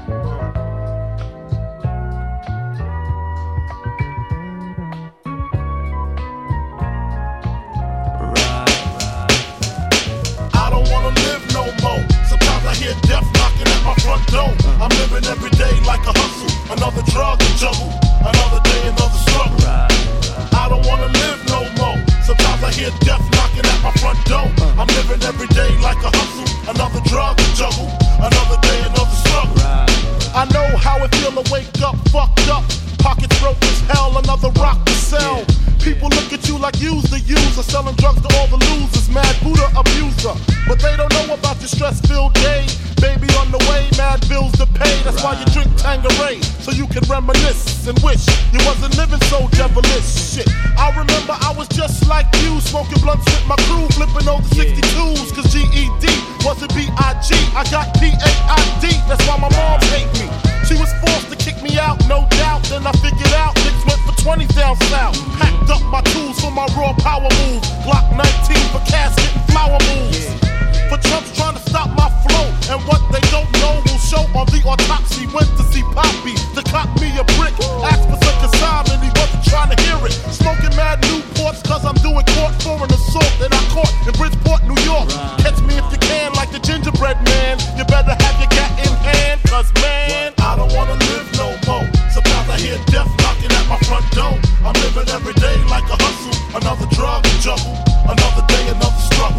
I don't wanna live no more. Sometimes I hear death knocking at my front door. I'm living every day like a hustle. Another drug and juggle. Another day, another struggle. I don't wanna live no more. Sometimes I hear death knocking at my front door. I'm living every day like a hustle. Another drug and juggle. Another day, another struggle. I know how it feel to wake up fucked up. pockets broke as hell, another rock to sell. People look at you like you's the user, selling drugs to all the losers, mad Buddha abuser. But they don't know about your stress-filled day. Baby on the way, mad bills to pay. That's why you drink Tanqueray, so you can reminisce and wish you wasn't living so devilish. Shit, I remember I was just like you, smoking blunts with my crew, flipping over sixty-twos, cause G E D wasn't B I G. I got P A I D, that's why my mom hate me. She was forced to kick me out, no doubt. Then I figured out niggas went for twenties down south. Packed up my tools for my raw power move. Glock nineteen for casket and flower moves. For Trump's trying to stop my flow. And what they don't know will show on the autopsy. Went to see Poppy to cop me a brick. Asked for some consignment, he wasn't trying to hear it. Smoking mad Newports cause I'm doing court for an assault that I caught in Bridgeport, New York. Catch me if you can like the gingerbread man. You better have your gat in hand, cause man, I don't wanna live no more. Sometimes I hear death knocking at my front door. I'm living every day like a hustle. Another drug juggle, another day, another struggle.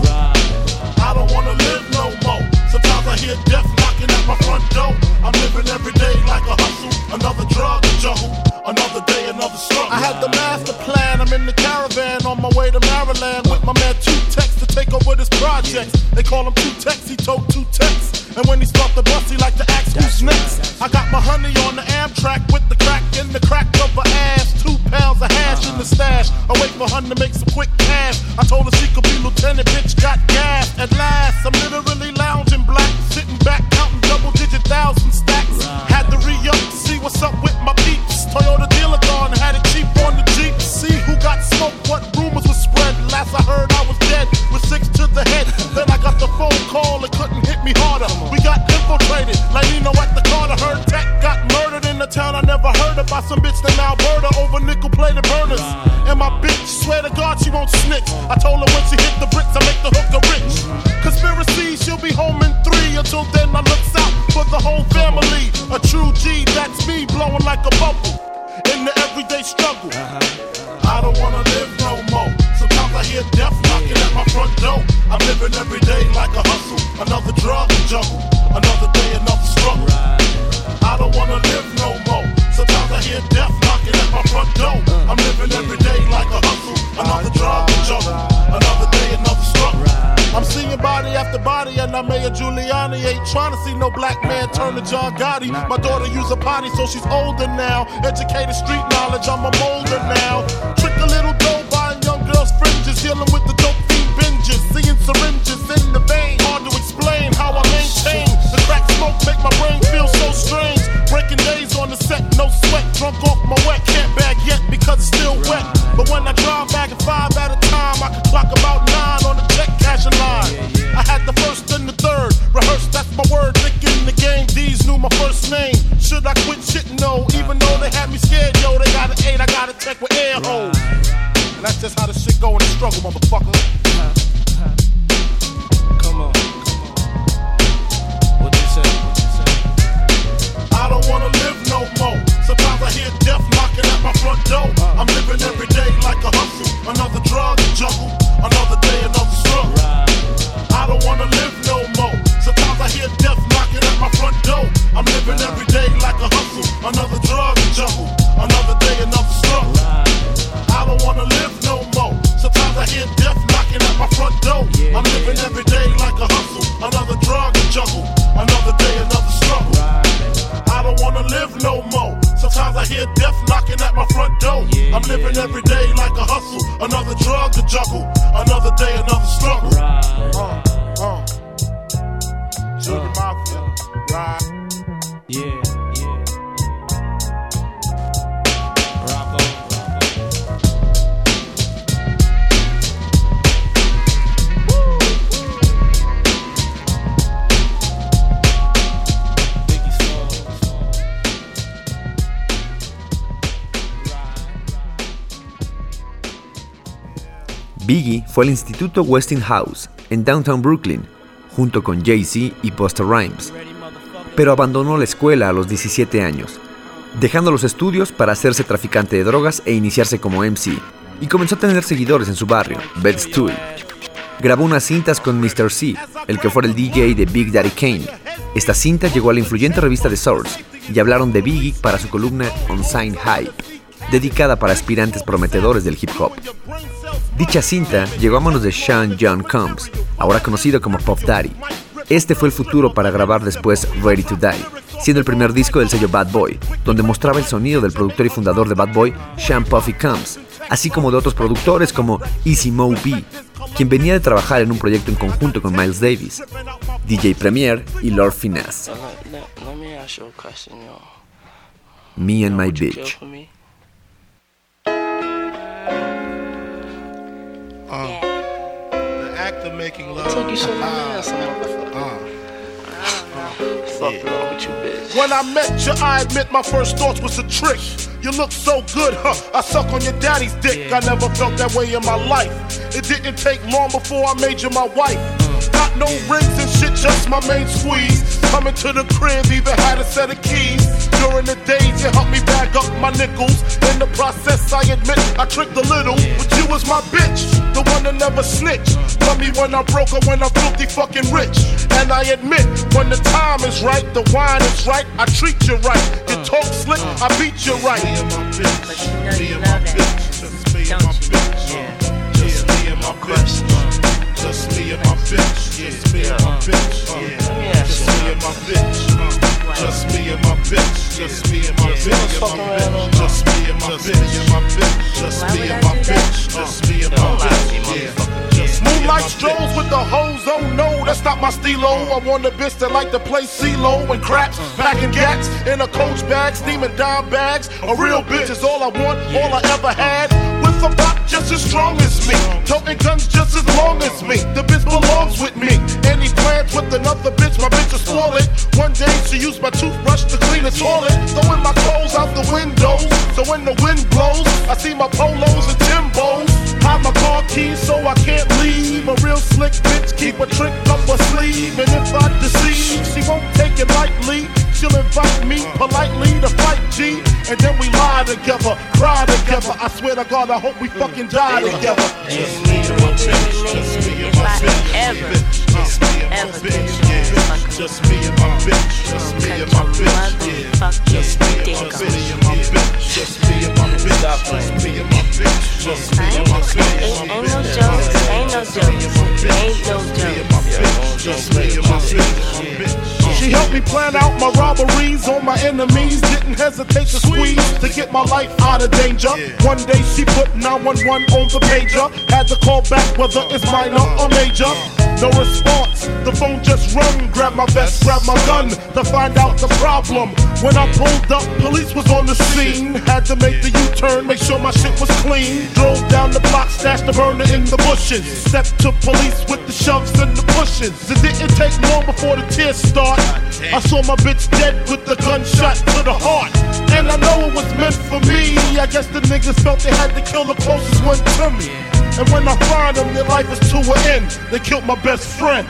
I don't wanna live no more. Sometimes I hear death knocking at my front door. I'm living every day like a hustle. Another drug juggle, another day, another struggle. I had the master plan. I'm in the caravan on my way to Maryland with my man Two Tex to take over this project. They call him Two Tex, he told Two Tex. And when he start the bus, he like to ask who's next. I got my honey on the Amtrak with the crack in the crack of her ass. Two pounds of hash in the stash. I wait for her to make some quick cash. I told her she could be lieutenant, bitch got gas. At last, I'm literally lounging black, sitting back, counting double-digit thousand stacks. Had to re-up to see what's up with my peeps. Toyota dealer gone, had it cheap on the Jeep. See who got smoked, what rumors were spread. Last I heard I was dead, with six to the head. Then I got the phone call, it couldn't hit me harder. We got infiltrated, like Nino at the Carter. Heard Tech got murdered in the town I never heard of by some bitch named Alberta over nickel-plated burners. And my bitch, swear to God she won't snitch. I told her when she hit the bricks, I make the hooker rich. Conspiracy, she'll be home in three. Until then, I looks out for the whole family. A true G, that's me, blowing like a bubble in the everyday struggle. I don't wanna live no more. Sometimes I hear death knocking at my front door. I'm living every day like a hustle. Another drug juggle, another day, another struggle. I don't wanna live no more. Sometimes I hear death knocking at my front door. I'm living every day like a hustle. Another drug juggle, another day, another struggle. I'm seeing body after body and I'm Mayor Giuliani. Ain't trying to see no black man turn to John Gotti. My daughter use a potty so she's older now. Educated street knowledge, I'm a molder now. Trick a little dough buying young girls fringes. Dealing with the dope fiend binges. Seeing syringes in the vein. Hard to explain how I maintain. The crack smoke make my brain feel so strange. Breaking days on the set, no sweat. Drunk off my wet, can't bag yet because it's still wet. But when I drive back at five at a time, I can clock about nine on the check cashing line. I had the first and the third, rehearsed, that's my word. Thinking the game, D's knew my first name. Should I quit shit? No, even though they had me scared, yo, they got an eight, I got a check with air holes. And that's just how the shit go in the struggle, motherfucker. Come on, come on. What you say? I don't wanna live no more. Sometimes I hear death knocking at my front door. I'm living every day like a hustle. Another drug juggle, another day, another struggle. I don't wanna live no more. Sometimes I hear death knocking at my front door. I'm living every day like a hustle. Another drug juggle, another day, another struggle. I don't wanna live no more. Sometimes I hear death knocking at my front door. I'm living every day like a hustle. Another drug juggle, another day, another struggle. I don't wanna live no more. Sometimes I hear death knocking at my front door. I'm living every day like a hustle. Another drug to juggle. Another day, another struggle. Uh, uh. Sugar Mafia. Right. Yeah, yeah. Rocco. Biggie fue al Instituto Westinghouse en Downtown Brooklyn, junto con Jay-Z y Busta Rhymes, pero abandonó la escuela a los diecisiete años, dejando los estudios para hacerse traficante de drogas e iniciarse como M C, y comenzó a tener seguidores en su barrio, Bed-Stuy. Grabó unas cintas con mister C, el que fuera el D J de Big Daddy Kane. Esta cinta llegó a la influyente revista The Source y hablaron de Biggie para su columna Unsigned Hype, dedicada para aspirantes prometedores del hip hop. Dicha cinta llegó a manos de Sean John Combs, ahora conocido como Puff Daddy. Este fue el futuro para grabar después Ready to Die, siendo el primer disco del sello Bad Boy, donde mostraba el sonido del productor y fundador de Bad Boy, Sean Puffy Combs, así como de otros productores como Easy Mo Bee, quien venía de trabajar en un proyecto en conjunto con Miles Davis, D J Premier y Lord Finesse. Me and My Bitch. Uh, the act of making love. Took you so many some motherfucker. Uh, Fuck wrong with you, bitch. When I met you, I admit my first thoughts was a trick. You look so good, huh? I suck on your daddy's dick. I never felt that way in my life. It didn't take long before I made you my wife. Got no rings and shit, just my main squeeze. Coming to the crib, even had a set of keys. During the days, you helped me bag up my nickels. In the process, I admit I tricked a little, but you was my bitch, the one that never snitched. Love me when I'm broke or when I'm filthy fucking rich. And I admit, when the time is right, the wine is right, I treat you right. You talk slick, I beat you right. Me and my bitch, me and my bitch, just me and my bitch, just me and my bitch. Just me and my bitch, just me and my bitch, just me and my bitch, just me and my bitch, just me and my bitch, just me and my bitch, just me and my bitch, just me and my bitch. Moonlight strolls with the hoes, oh no, that's not my stilo. I want a bitch that like to play CeeLo and craps, packing gats in a coach bag, steaming dime bags. A real bitch is all I want, all I ever had. With a bop just as strong as me, toting guns just as long as me. The bitch belongs with me. Any plans with another bitch, my bitch will spoil it. One day she used my toothbrush to clean the toilet, throwing my clothes out the window. So when the wind blows, I see my polos and Timbos. Hide my car keys so I can't leave. A real slick bitch keep a trick up her sleeve. And if I deceive, she won't take it lightly. She'll invite me politely to fight G. And then we lie together, cry together. I swear to God, I hope we fucking die together. Just me and my bitch, just me and my bitch, just me and my bitch, yeah. Just me and my bitch, just me and my bitch, yeah. Just me and my bitch, just me and my bitch, just me and my bitch, just me and my bitch. Ain't no jokes, ain't no jokes, ain't no jokes. Just me and my bitch. She helped me plan out my robberies on my enemies. Didn't hesitate to squeeze to get my life out of danger. One day she put nine one one on the pager. Had to call back whether it's minor or major. No response, the phone just rung. Grab my vest, grab my gun to find out the problem. When I pulled up, police was on the scene. Had to make the U-turn, make sure my shit was clean. Drove down the block, stashed the burner in the bushes. Stepped to police with the shoves and the pushes. It didn't take long before the tears start. I saw my bitch dead with the gunshot to the heart. And I know it was meant for me. I guess the niggas felt they had to kill the closest one to me. And when I find them, their life is to an end. They killed my best friend.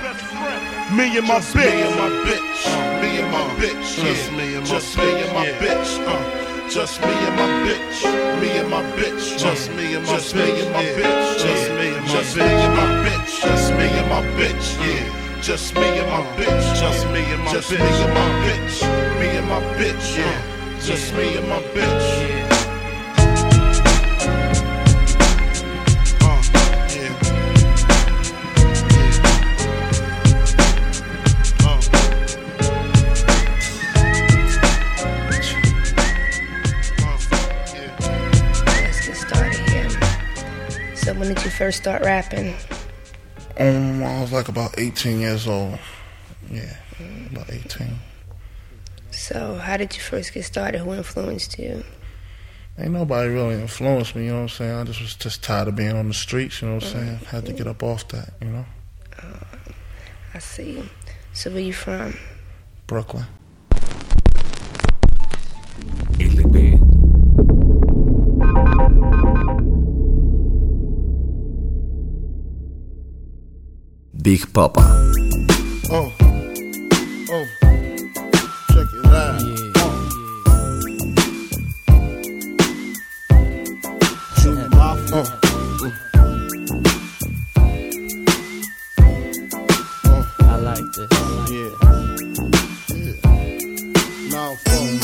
Me and my bitch. Me and my bitch. Me and my bitch. Just me and my Just me and my bitch. Uh, Just me and my bitch. Me and my bitch. Just me and my Just me and my bitch. Just me and my Just me and my bitch. Just me and my bitch. Yeah. Just me and my bitch. Just me and my Just me and my bitch. Me and my bitch. Yeah. Just me and my bitch. So when did you first start rapping? Um, I was like about eighteen years old. Yeah, about eighteen. So how did you first get started? Who influenced you? Ain't nobody really influenced me, you know what I'm saying? I just was just tired of being on the streets, you know what I'm saying? Had to get up off that, you know? Uh, I see. So where you from? Brooklyn. L P. Big Papa. Oh, oh, check it out. Yeah. Oh. Oh. I like this. Yeah. Yeah. Now, phone.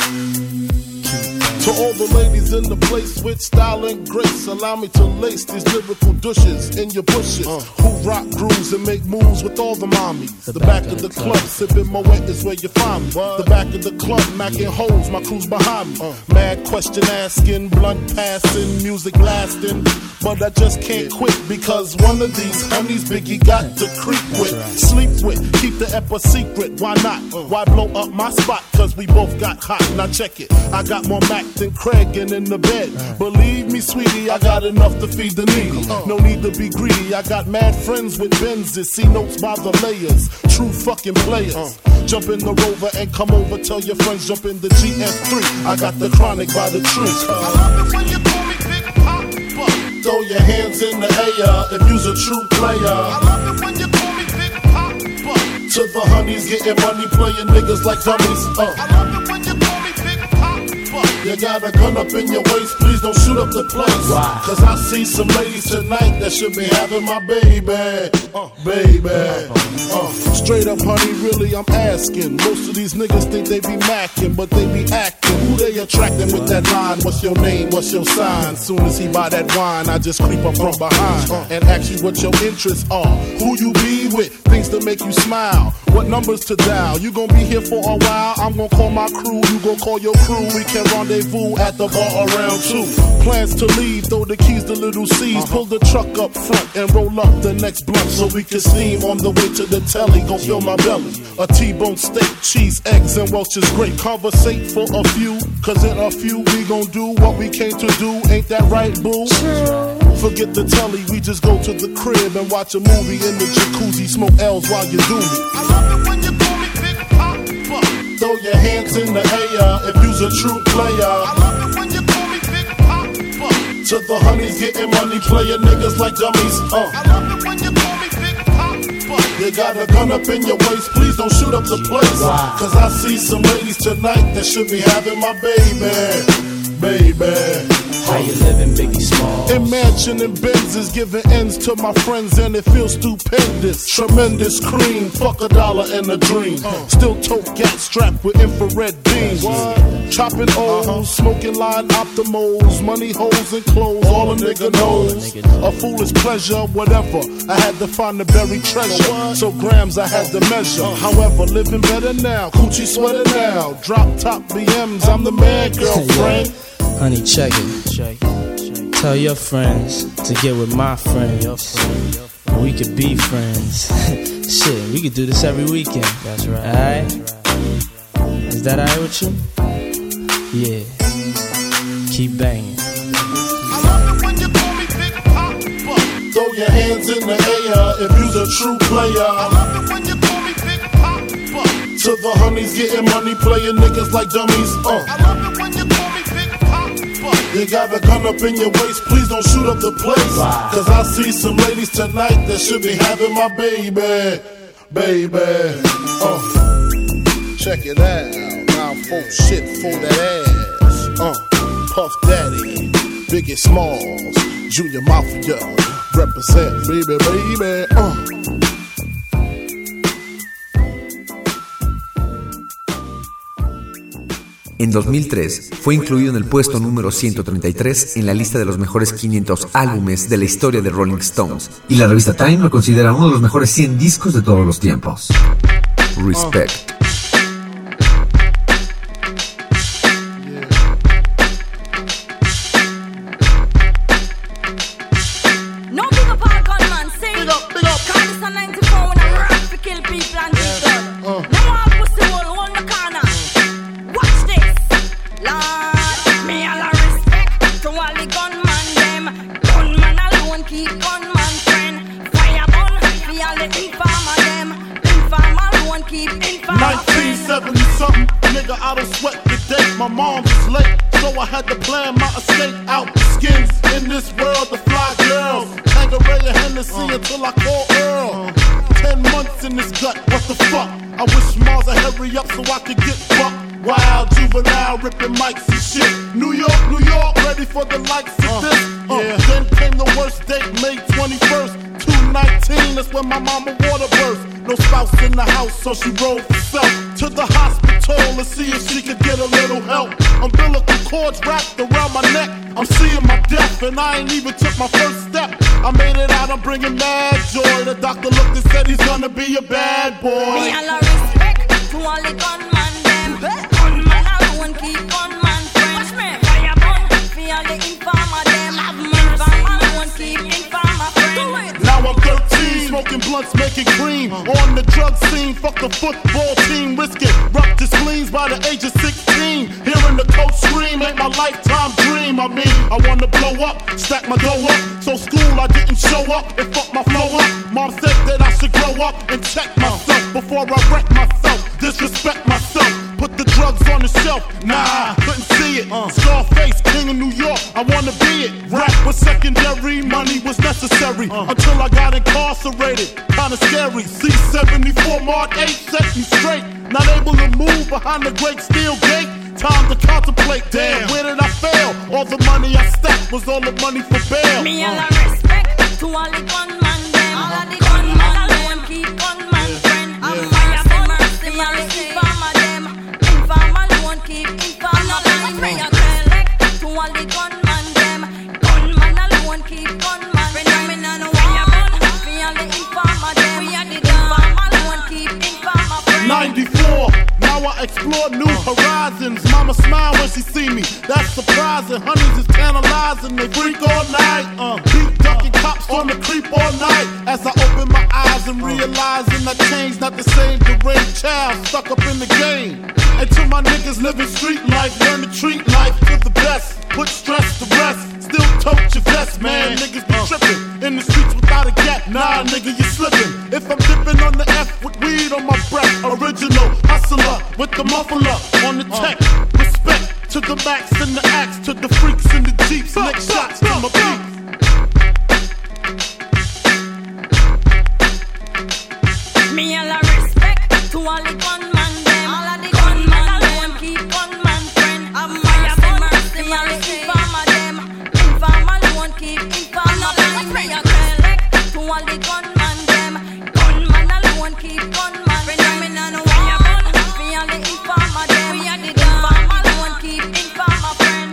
To all the ladies in the place with style and grace, allow me to lace these lyrical douches in your bushes. Uh. Who rock grooves and make moves with all the mommies. The, the back, back of the, the club, club. Sipping Moet is where you find me. What? The back of the club, macking holes, my crew's behind me. Uh. Mad question asking, blunt passing, music blasting. But I just can't quit because one of these honeys Biggie got to creep with, right. Sleep with, keep the ep a secret. Why not? Uh. Why blow up my spot? Cause we both got hot. Now check it. I got more Mac than Craig and in the bed. Uh. Believe me, sweetie, I got enough to feed the needy. Uh. No need to be greedy. I got mad friends with Benzes. See notes by the layers. True fucking players. Uh. Jump in the Rover and come over. Tell your friends jump in the G S three. I got the chronic by the tree. Uh. I love it when you call me Big Papa. Throw your hands in the air if you's a true player. I love it when you call me Big Papa. To the honeys getting money, playing niggas like dummies. Uh. I love it when you call me Big Papa. You got a gun up in your waist, please don't shoot up the place. Why? Cause I see some ladies tonight that should be having my baby. Uh, baby. Uh, straight up, honey, really, I'm asking. Most of these niggas think they be macking, but they be acting. Who they attracting with that line? What's your name? What's your sign? Soon as he buy that wine, I just creep up from behind and ask you what your interests are. Who you be with? Things to make you smile. What numbers to dial? You gon' be here for a while. I'm gon' call my crew. You gon' call your crew. We can rendezvous at the bar around two. Plans to leave, throw the keys to little C's. Pull the truck up front and roll up the next blunt so we can steam on the way to the telly. Gon' fill my belly. A T-bone steak, cheese, eggs, and Welch's grape. Conversate for a few, cause in a few we gon' do what we came to do. Ain't that right, boo? Forget the telly, we just go to the crib and watch a movie in the jacuzzi. Smoke L's while you do me. I love it when you call me Big Papa. Throw your hands in the air if you's a true player. I love it when you call me Big Papa. To the honeys getting money, playing niggas like dummies. Uh. I love it when you call me Big Papa. You got a gun up in your waist, please don't shoot up the place. Wow. Cause I see some ladies tonight that should be having my baby, baby. How you living, Biggie Small? Imagining Benzes giving ends to my friends and it feels stupendous. Tremendous cream, fuck a dollar and a dream. Uh. Still tote gas strapped with infrared beams. What? Chopping O's, uh-huh. Smoking line optimals, money holes and clothes, all a nigga knows. A foolish pleasure, whatever. I had to find the buried treasure, so grams I had to measure. Uh. However, living better now, coochie sweater now. Drop top B Ms, I'm the man, girlfriend. Honey, check it. check it. Tell your friends to get with my friends. And we could be friends. Shit, we could do this every weekend. That's right. Alright? Is that alright with you? Yeah. Keep banging. I love it when you call me Big Papa. Throw your hands in the air if you's a true player. I love it when you call me Big Papa. To the honeys getting money, playing niggas like dummies. Uh. I love it when you call me Big Papa. You got a gun up in your waist, please don't shoot up the place. Wow. Cause I see some ladies tonight that should be having my baby, baby. Uh. Check it out, now folk shit for that ass. Uh. Puff Daddy, Biggie Smalls, Junior Mafia, represent, baby, baby. Uh. En dos mil tres fue incluido en el puesto número ciento treinta y tres en la lista de los mejores quinientos álbumes de la historia de Rolling Stones. Y la revista Time lo considera uno de los mejores cien discos de todos los tiempos. Respect. nineteen seventy something, nigga, I don't sweat the day. My mom was late, so I had to plan my escape out. Skins in this world, the fly girls. Tangeray and Hennessy uh, until I call Earl. Uh, Ten months in this gut, what the fuck? I wish Mars would hurry up so I could get fucked. Wild juvenile ripping mics and shit. New York, New York, ready for the likes of uh, this. Uh, yeah. Then came the worst date, May twenty-first, two nineteen. stainless when my mama water burst. No spouse in the house, so she rolled herself to the hospital to see if she could get a little help. Umbilical cords wrapped around my neck. I'm seeing my death, and I ain't even took my first step. I made it out, I'm bringing mad joy. The doctor looked and said he's gonna be a bad boy. Me all a respect to all the gunman them. Gunman alone keep gunman friends. Fire burn for all the informer them. Informer alone keep informer friends. Now I'm thirteen, smoking blunts, making cream. On the drug scene, fuck the football team. Risking ruptured spleens by the age of sixteen. Hearing the coach scream ain't my lifetime dream. I mean, I wanna blow up, stack my dough up. So school I didn't show up and fuck my flow up. Mom said that I should grow up and check myself before I wreck myself, disrespect myself. Put the drugs on the shelf, nah, couldn't see it. uh. Scarface, king of New York, I wanna be it. Rap was secondary, money was necessary. uh. Until I got incarcerated, kinda scary. C seventy-four Mark eight set me straight. Not able to move behind the great steel gate. Time to contemplate, damn, where did I fail? All the money I stacked was all the money for bail. Me all a respect to all the gunman them. All of the gunman alone keep gunman friend. I'm fire for mercy, all the informer them. Informer alone keep informer friend. Me a collect to all the gunman them. Gunman alone keep gunman friend. Me no know fire burn for all the informer them. We are the informer alone keep informer friend. ninety-four, now I explore new horizons. Mama smile when she see me, that's surprising. Honeys is tantalizing, they freak all night. Uh, beat ducking cops on the creep all night. As I open my eyes and realizing I changed, not the same deranged child stuck up in the game. And to my niggas living street life, learn to treat life to the best. Put stress to rest, still tote your vest, man. Niggas be tripping in the streets without a gap. Nah, nigga, you slipping. If I'm dipping on the F with weed on my breath, original hustler with the muffler on the tech. Respect to the max and the axe, to the freaks in the jeeps. Lick shots to my beat. Me all a respect to all the gunman them. All of the gunman alone keep gunman friend. I'm fire for mercy, all the informer them. Informer alone keep informer friend. Me a collect to all the gunman them. Gunman alone keep gunman friend. Me no know fire burn for all the informer them. We are the informer alone keep informer friend.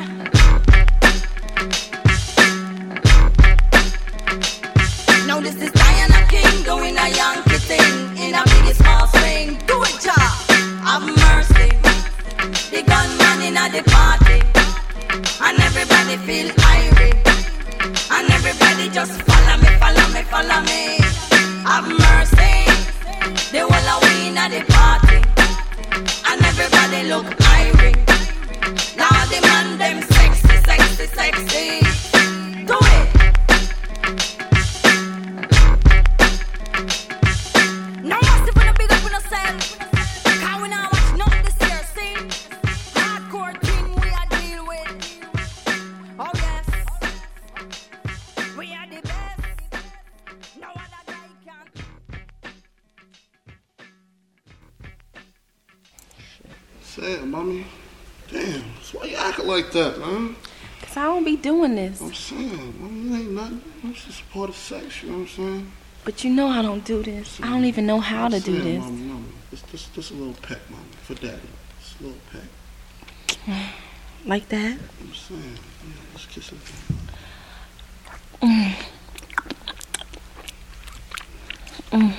Now this is Diana King doing a Yankee thing. In a big small swing, do it, child. Have mercy. The gunman in a the party, and everybody feel irate, and everybody just follow me, follow me, follow me. Have mercy. The whole of we in a the party, and everybody look irate. Now the man them sexy, sexy, sexy. Do it. Now what's if we no big up in ourselves? Cause we not watch nothing this year, see? Hardcore thing we are deal with. Oh yes, we are the best. No other guy can. Say it, mommy. Damn, so why you acting like that, man? Cause I don't be doing this. I'm saying, mommy, it ain't nothing. It's just part of sex, you know what I'm saying? But you know I don't do this. I don't even know how to do this. Mommy, mommy, just, just, just a little peck, mommy, for daddy. Just a little peck. Like that? I'm saying, yeah, let's kiss it. Mm. Mm.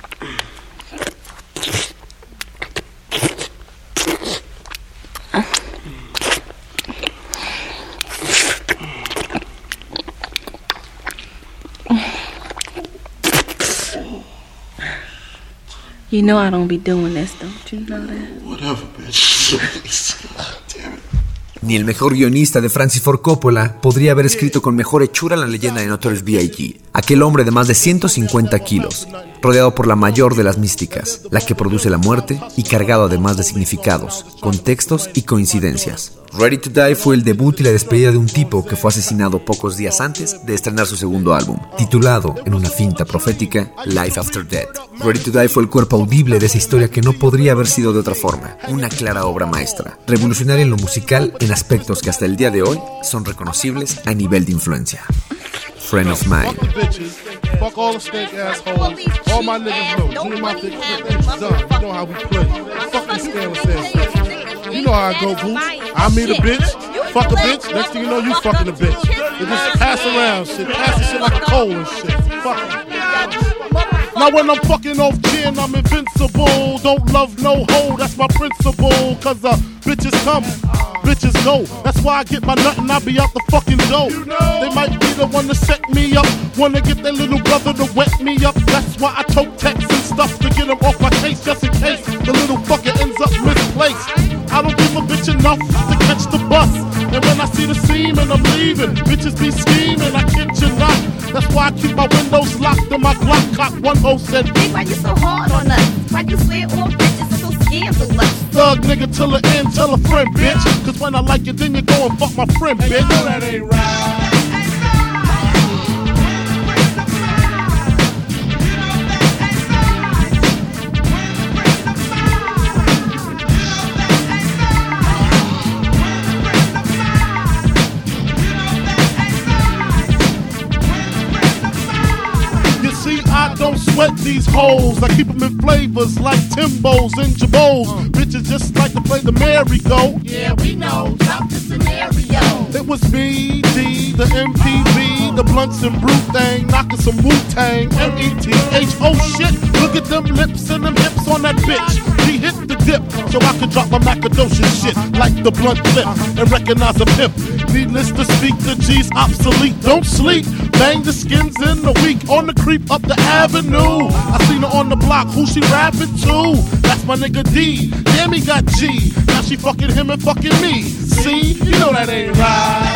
You know I don't be doing this, don't you know that? Whatever, bitch. Damn it. Ni el mejor guionista de Francis Ford Coppola podría haber escrito con mejor hechura la leyenda de Notorious B I G Aquel hombre de más de ciento cincuenta kilos, rodeado por la mayor de las místicas, la que produce la muerte y cargado además de significados, contextos y coincidencias. Ready to Die fue el debut y la despedida de un tipo que fue asesinado pocos días antes de estrenar su segundo álbum, titulado, en una finta profética, Life After Death. Ready to Die fue el cuerpo audible de esa historia que no podría haber sido de otra forma, una clara obra maestra, revolucionaria en lo musical en aspectos que hasta el día de hoy son reconocibles a nivel de influencia. Friend of Mine. Fuck all the snake assholes. All my niggas know. Junior Mafia clip, it's done. You know how we play. Fuck this scandalous ass bitch. You know how I go, Boots. I meet a bitch, fuck a bitch. Next thing you know, you fucking a bitch. They just pass around shit. Pass the shit like a coal and shit. Fuck it. Now when I'm fucking off gin, I'm invincible. Don't love no hoe, that's my principle. Cause uh, bitches come, bitches go. That's why I get my nut and I be out the fucking dough. They might be the one to set me up, wanna get their little brother to wet me up. That's why I tote texts and stuff to get them off my case, just in case the little fucker ends up misplaced. I don't give a bitch enough to catch the bus. And when I see the seam and I'm leaving, bitches be scheming, I kid you not. That's why I keep my windows locked and my Glock cocked. One hoe said, Big, why you so hard on us? Why you swear all bitches are so scandalous? Thug nigga till the end, tell a friend, bitch. Cause when I like you, then you go and fuck my friend, bitch. No, that ain't right. I don't sweat these hoes. I keep them in flavors like Timbos and Jabos. Uh. Bitches just like to play the merry-go. Yeah, we know. Drop the scenario. It was me, D, the M P V, the blunts and brew thing, knocking some Wu-Tang. M E T H, oh shit. Look at them lips and them hips on that bitch. She hit the dip, so I can drop my macadocious shit like the blunt clip and recognize a pimp. Needless to speak, the G's obsolete. Don't sleep, bang the skins in the week. On the creep up the avenue, I seen her on the block, who she rapping to? That's my nigga D, damn he got G. Now she fucking him and fucking me. See, you know that ain't right.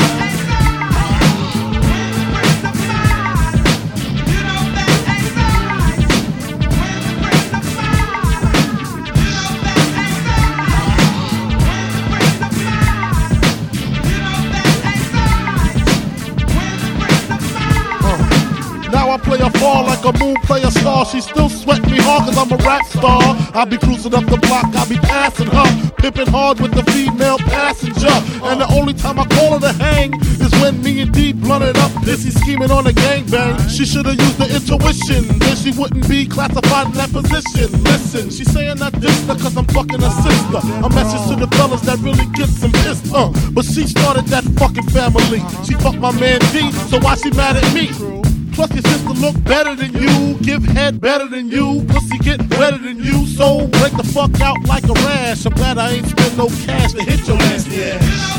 I play a fall like a moon play a star. She still sweat me hard cause I'm a rap star. I be cruising up the block, I be passing her, pimping hard with the female passenger. And the only time I call her to hang is when me and D blunted up, busy scheming on a gangbang. She should've used the intuition, then she wouldn't be classified in that position. Listen, she's saying I dissed her cause I'm fucking her sister. A message to the fellas that really gets them pissed, uh. But she started that fucking family. She fucked my man D, so why she mad at me? Plus your sister look better than you, give head better than you, pussy get wetter than you, so break the fuck out like a rash. I'm glad I ain't spend no cash to hit your nasty ass.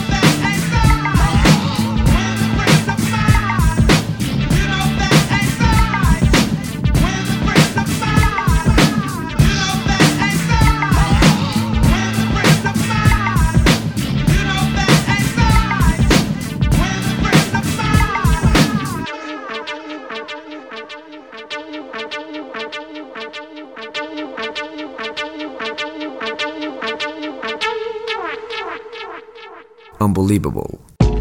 Unbelievable.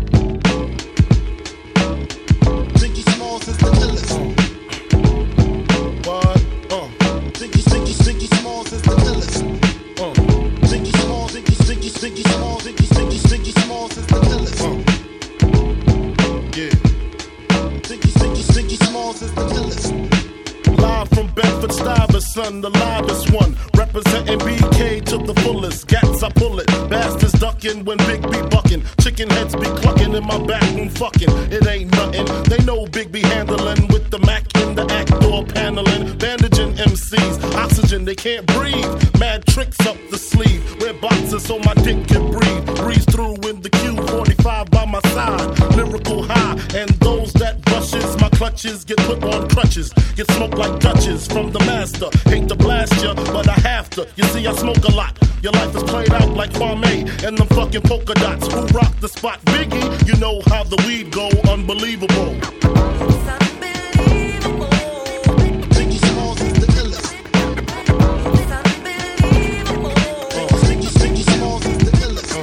Ziggy Smalls is the illest. What? Uh. Ziggy, Ziggy, Ziggy Smalls is the illest. Uh. Ziggy Smalls, Ziggy, Ziggy, Ziggy Smalls, Ziggy, Ziggy, Ziggy Smalls is the illest. Uh. Yeah. Ziggy, Ziggy, Ziggy Smalls is the illest. Live from Bedford Stuyvesant, the livest one. Representing B K to the fullest. Gats, I pull it. Bastards ducking when Big B bucking. Chicken heads be clucking in my back room fucking. It ain't nothing. They know Big B handling with the Mac in the act door paneling. Bandaging M Cs. Oxygen, they can't breathe. Mad tricks up the sleeve. Wear boxes so my dick can breathe. Breeze through in the Q forty-five by my side. Lyrical high. And those that brushes my clutches get put on crutches. Get smoked like Dutches from the master. Hate to blast ya, but I have to. You see, I smoke a lot. Your life is played out like Kwame and them fucking polka dots. Who rock the spot? Biggie, you know how the weed go. Unbelievable. Ziggy Smalls is the illest. Uh, Ziggy, Ziggy Smalls is the illest. Uh.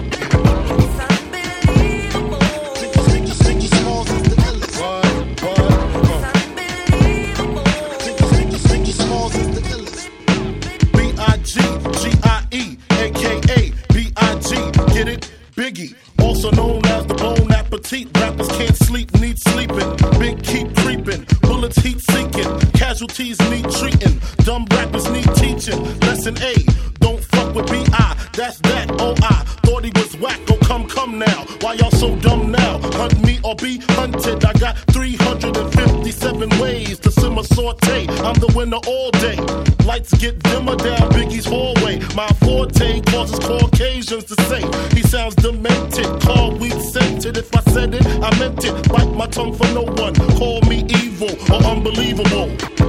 Ziggy, Ziggy, Ziggy Smalls is the illest. What? What? Uh. Ziggy, Ziggy, Ziggy Smalls is the illest. B I G G I E, A K A B I G, get it? Biggie, also known as the Bon Appetit. Rappers can't sleep, need sleeping. Big keep O Ts need treating, dumb rappers need teaching. Lesson A, don't fuck with B I, that's that, oh I thought he was whack, oh come, come now. Why y'all so dumb now? Hunt me or be hunted, I got three hundred fifty-seven ways to simmer saute. I'm the winner all day. Lights get dimmer down Biggie's hallway. My forte causes Caucasians to say he sounds demented. Call weed scented. If I said it, I meant it. Bite my tongue for no one. Call me evil or unbelievable.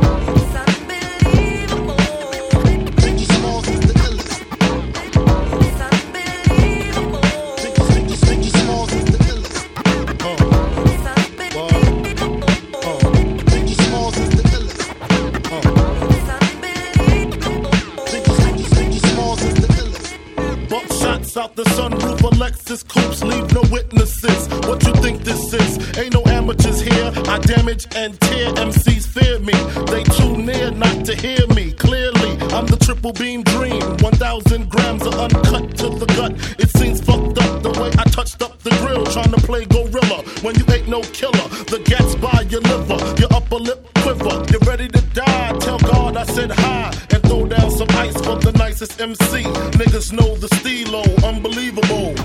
Out the sunroof, Alexis coupes, leave no witnesses. What you think this is? Ain't no amateurs here. I damage and tear. M Cs fear me. They too near not to hear me. Clearly, I'm the triple beam dream. One thousand grams of uncut to the gut. It seems fucked up the way I touched up the grill, trying to play gorilla when you ain't no killer. The gat's by your liver, your upper lip quiver. You're ready to die. Tell God I said hi and throw down some ice for the nicest M C. Niggas know the stilo, unbelievable.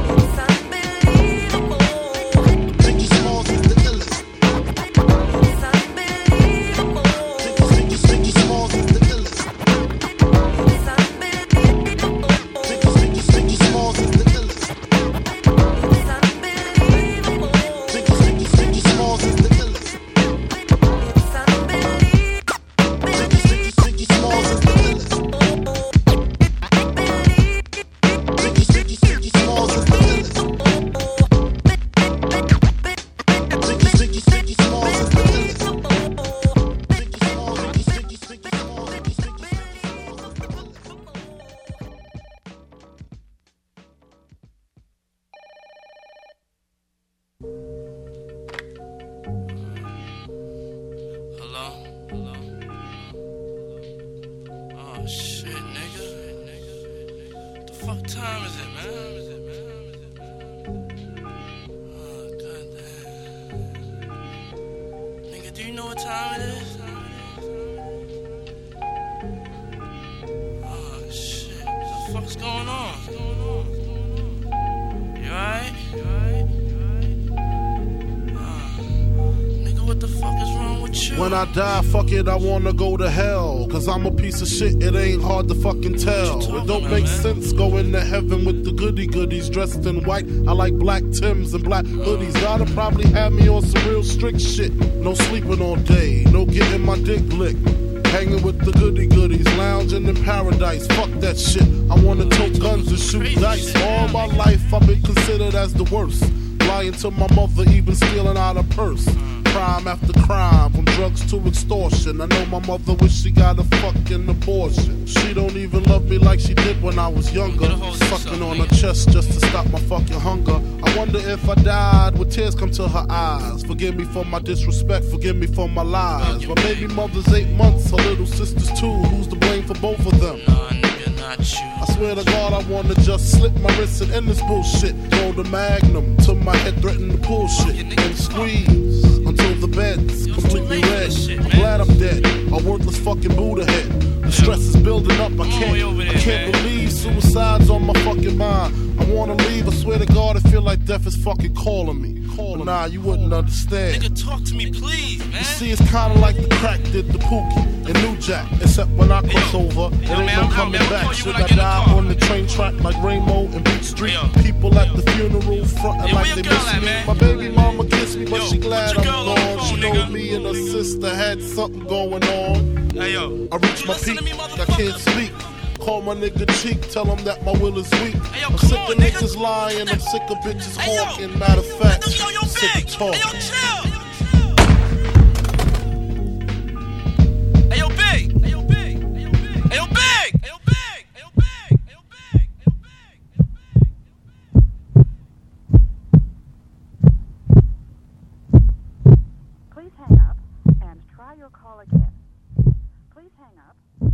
When I die, fuck it, I wanna go to hell. Cause I'm a piece of shit, it ain't hard to fucking tell. It don't make sense going to heaven with the goody goodies dressed in white. I like black Tims and black hoodies. Gotta probably have me on some real strict shit. No sleeping all day, no getting my dick licked. Hanging with the goody goodies, lounging in paradise. Fuck that shit, I wanna tote guns and shoot dice. All my life I've been considered as the worst. Lying to my mother, even stealing out her purse. Crime after crime, from drugs to extortion. I know my mother wish she got a fucking abortion. She don't even love me like she did when I was younger. Sucking on her chest just to stop my fucking hunger. I wonder if I died, would tears come to her eyes? Forgive me for my disrespect, forgive me for my lies. My baby mother's eight months, her little sister's two. Who's to blame for both of them? I swear to God, I wanna just slip my wrist and end this bullshit. Throw the magnum till my head threaten to pull shit and squeeze until the bed's completely red. I'm glad I'm dead, a worthless fucking Buddha head. The stress is building up, I can't, I can't believe suicide's on my fucking mind. I wanna leave, I swear to God, I feel like death is fucking calling me. But nah, you wouldn't understand. Nigga, talk to me, please, man. You see, it's kinda like the crack did the Pookie and New Jack. Except when I cross over, it ain't no coming back. Should I die on the train track like Rainbow and Beach Street? People at the funeral frontin' like they miss me. My baby mama kissed me, but she glad I'm gone. She know me and her sister had something going on. I reached my peak, I can't speak. Call my nigga cheek, tell him that my will is weak. Hey, yo, I'm sick on, of nigga. niggas lying, I'm sick of bitches Hey, yo. hawking. Matter of fact, Yo, yo, I'm sick big. of talking. Hey, yo, chill. Hey, yo, big. Hey, yo, big. Hey, yo, big. Hey, yo, big. Hey, yo, big. Hey, yo, big. Hey, yo, big. Hey, yo, Please hang up and try your call again. Please hang up.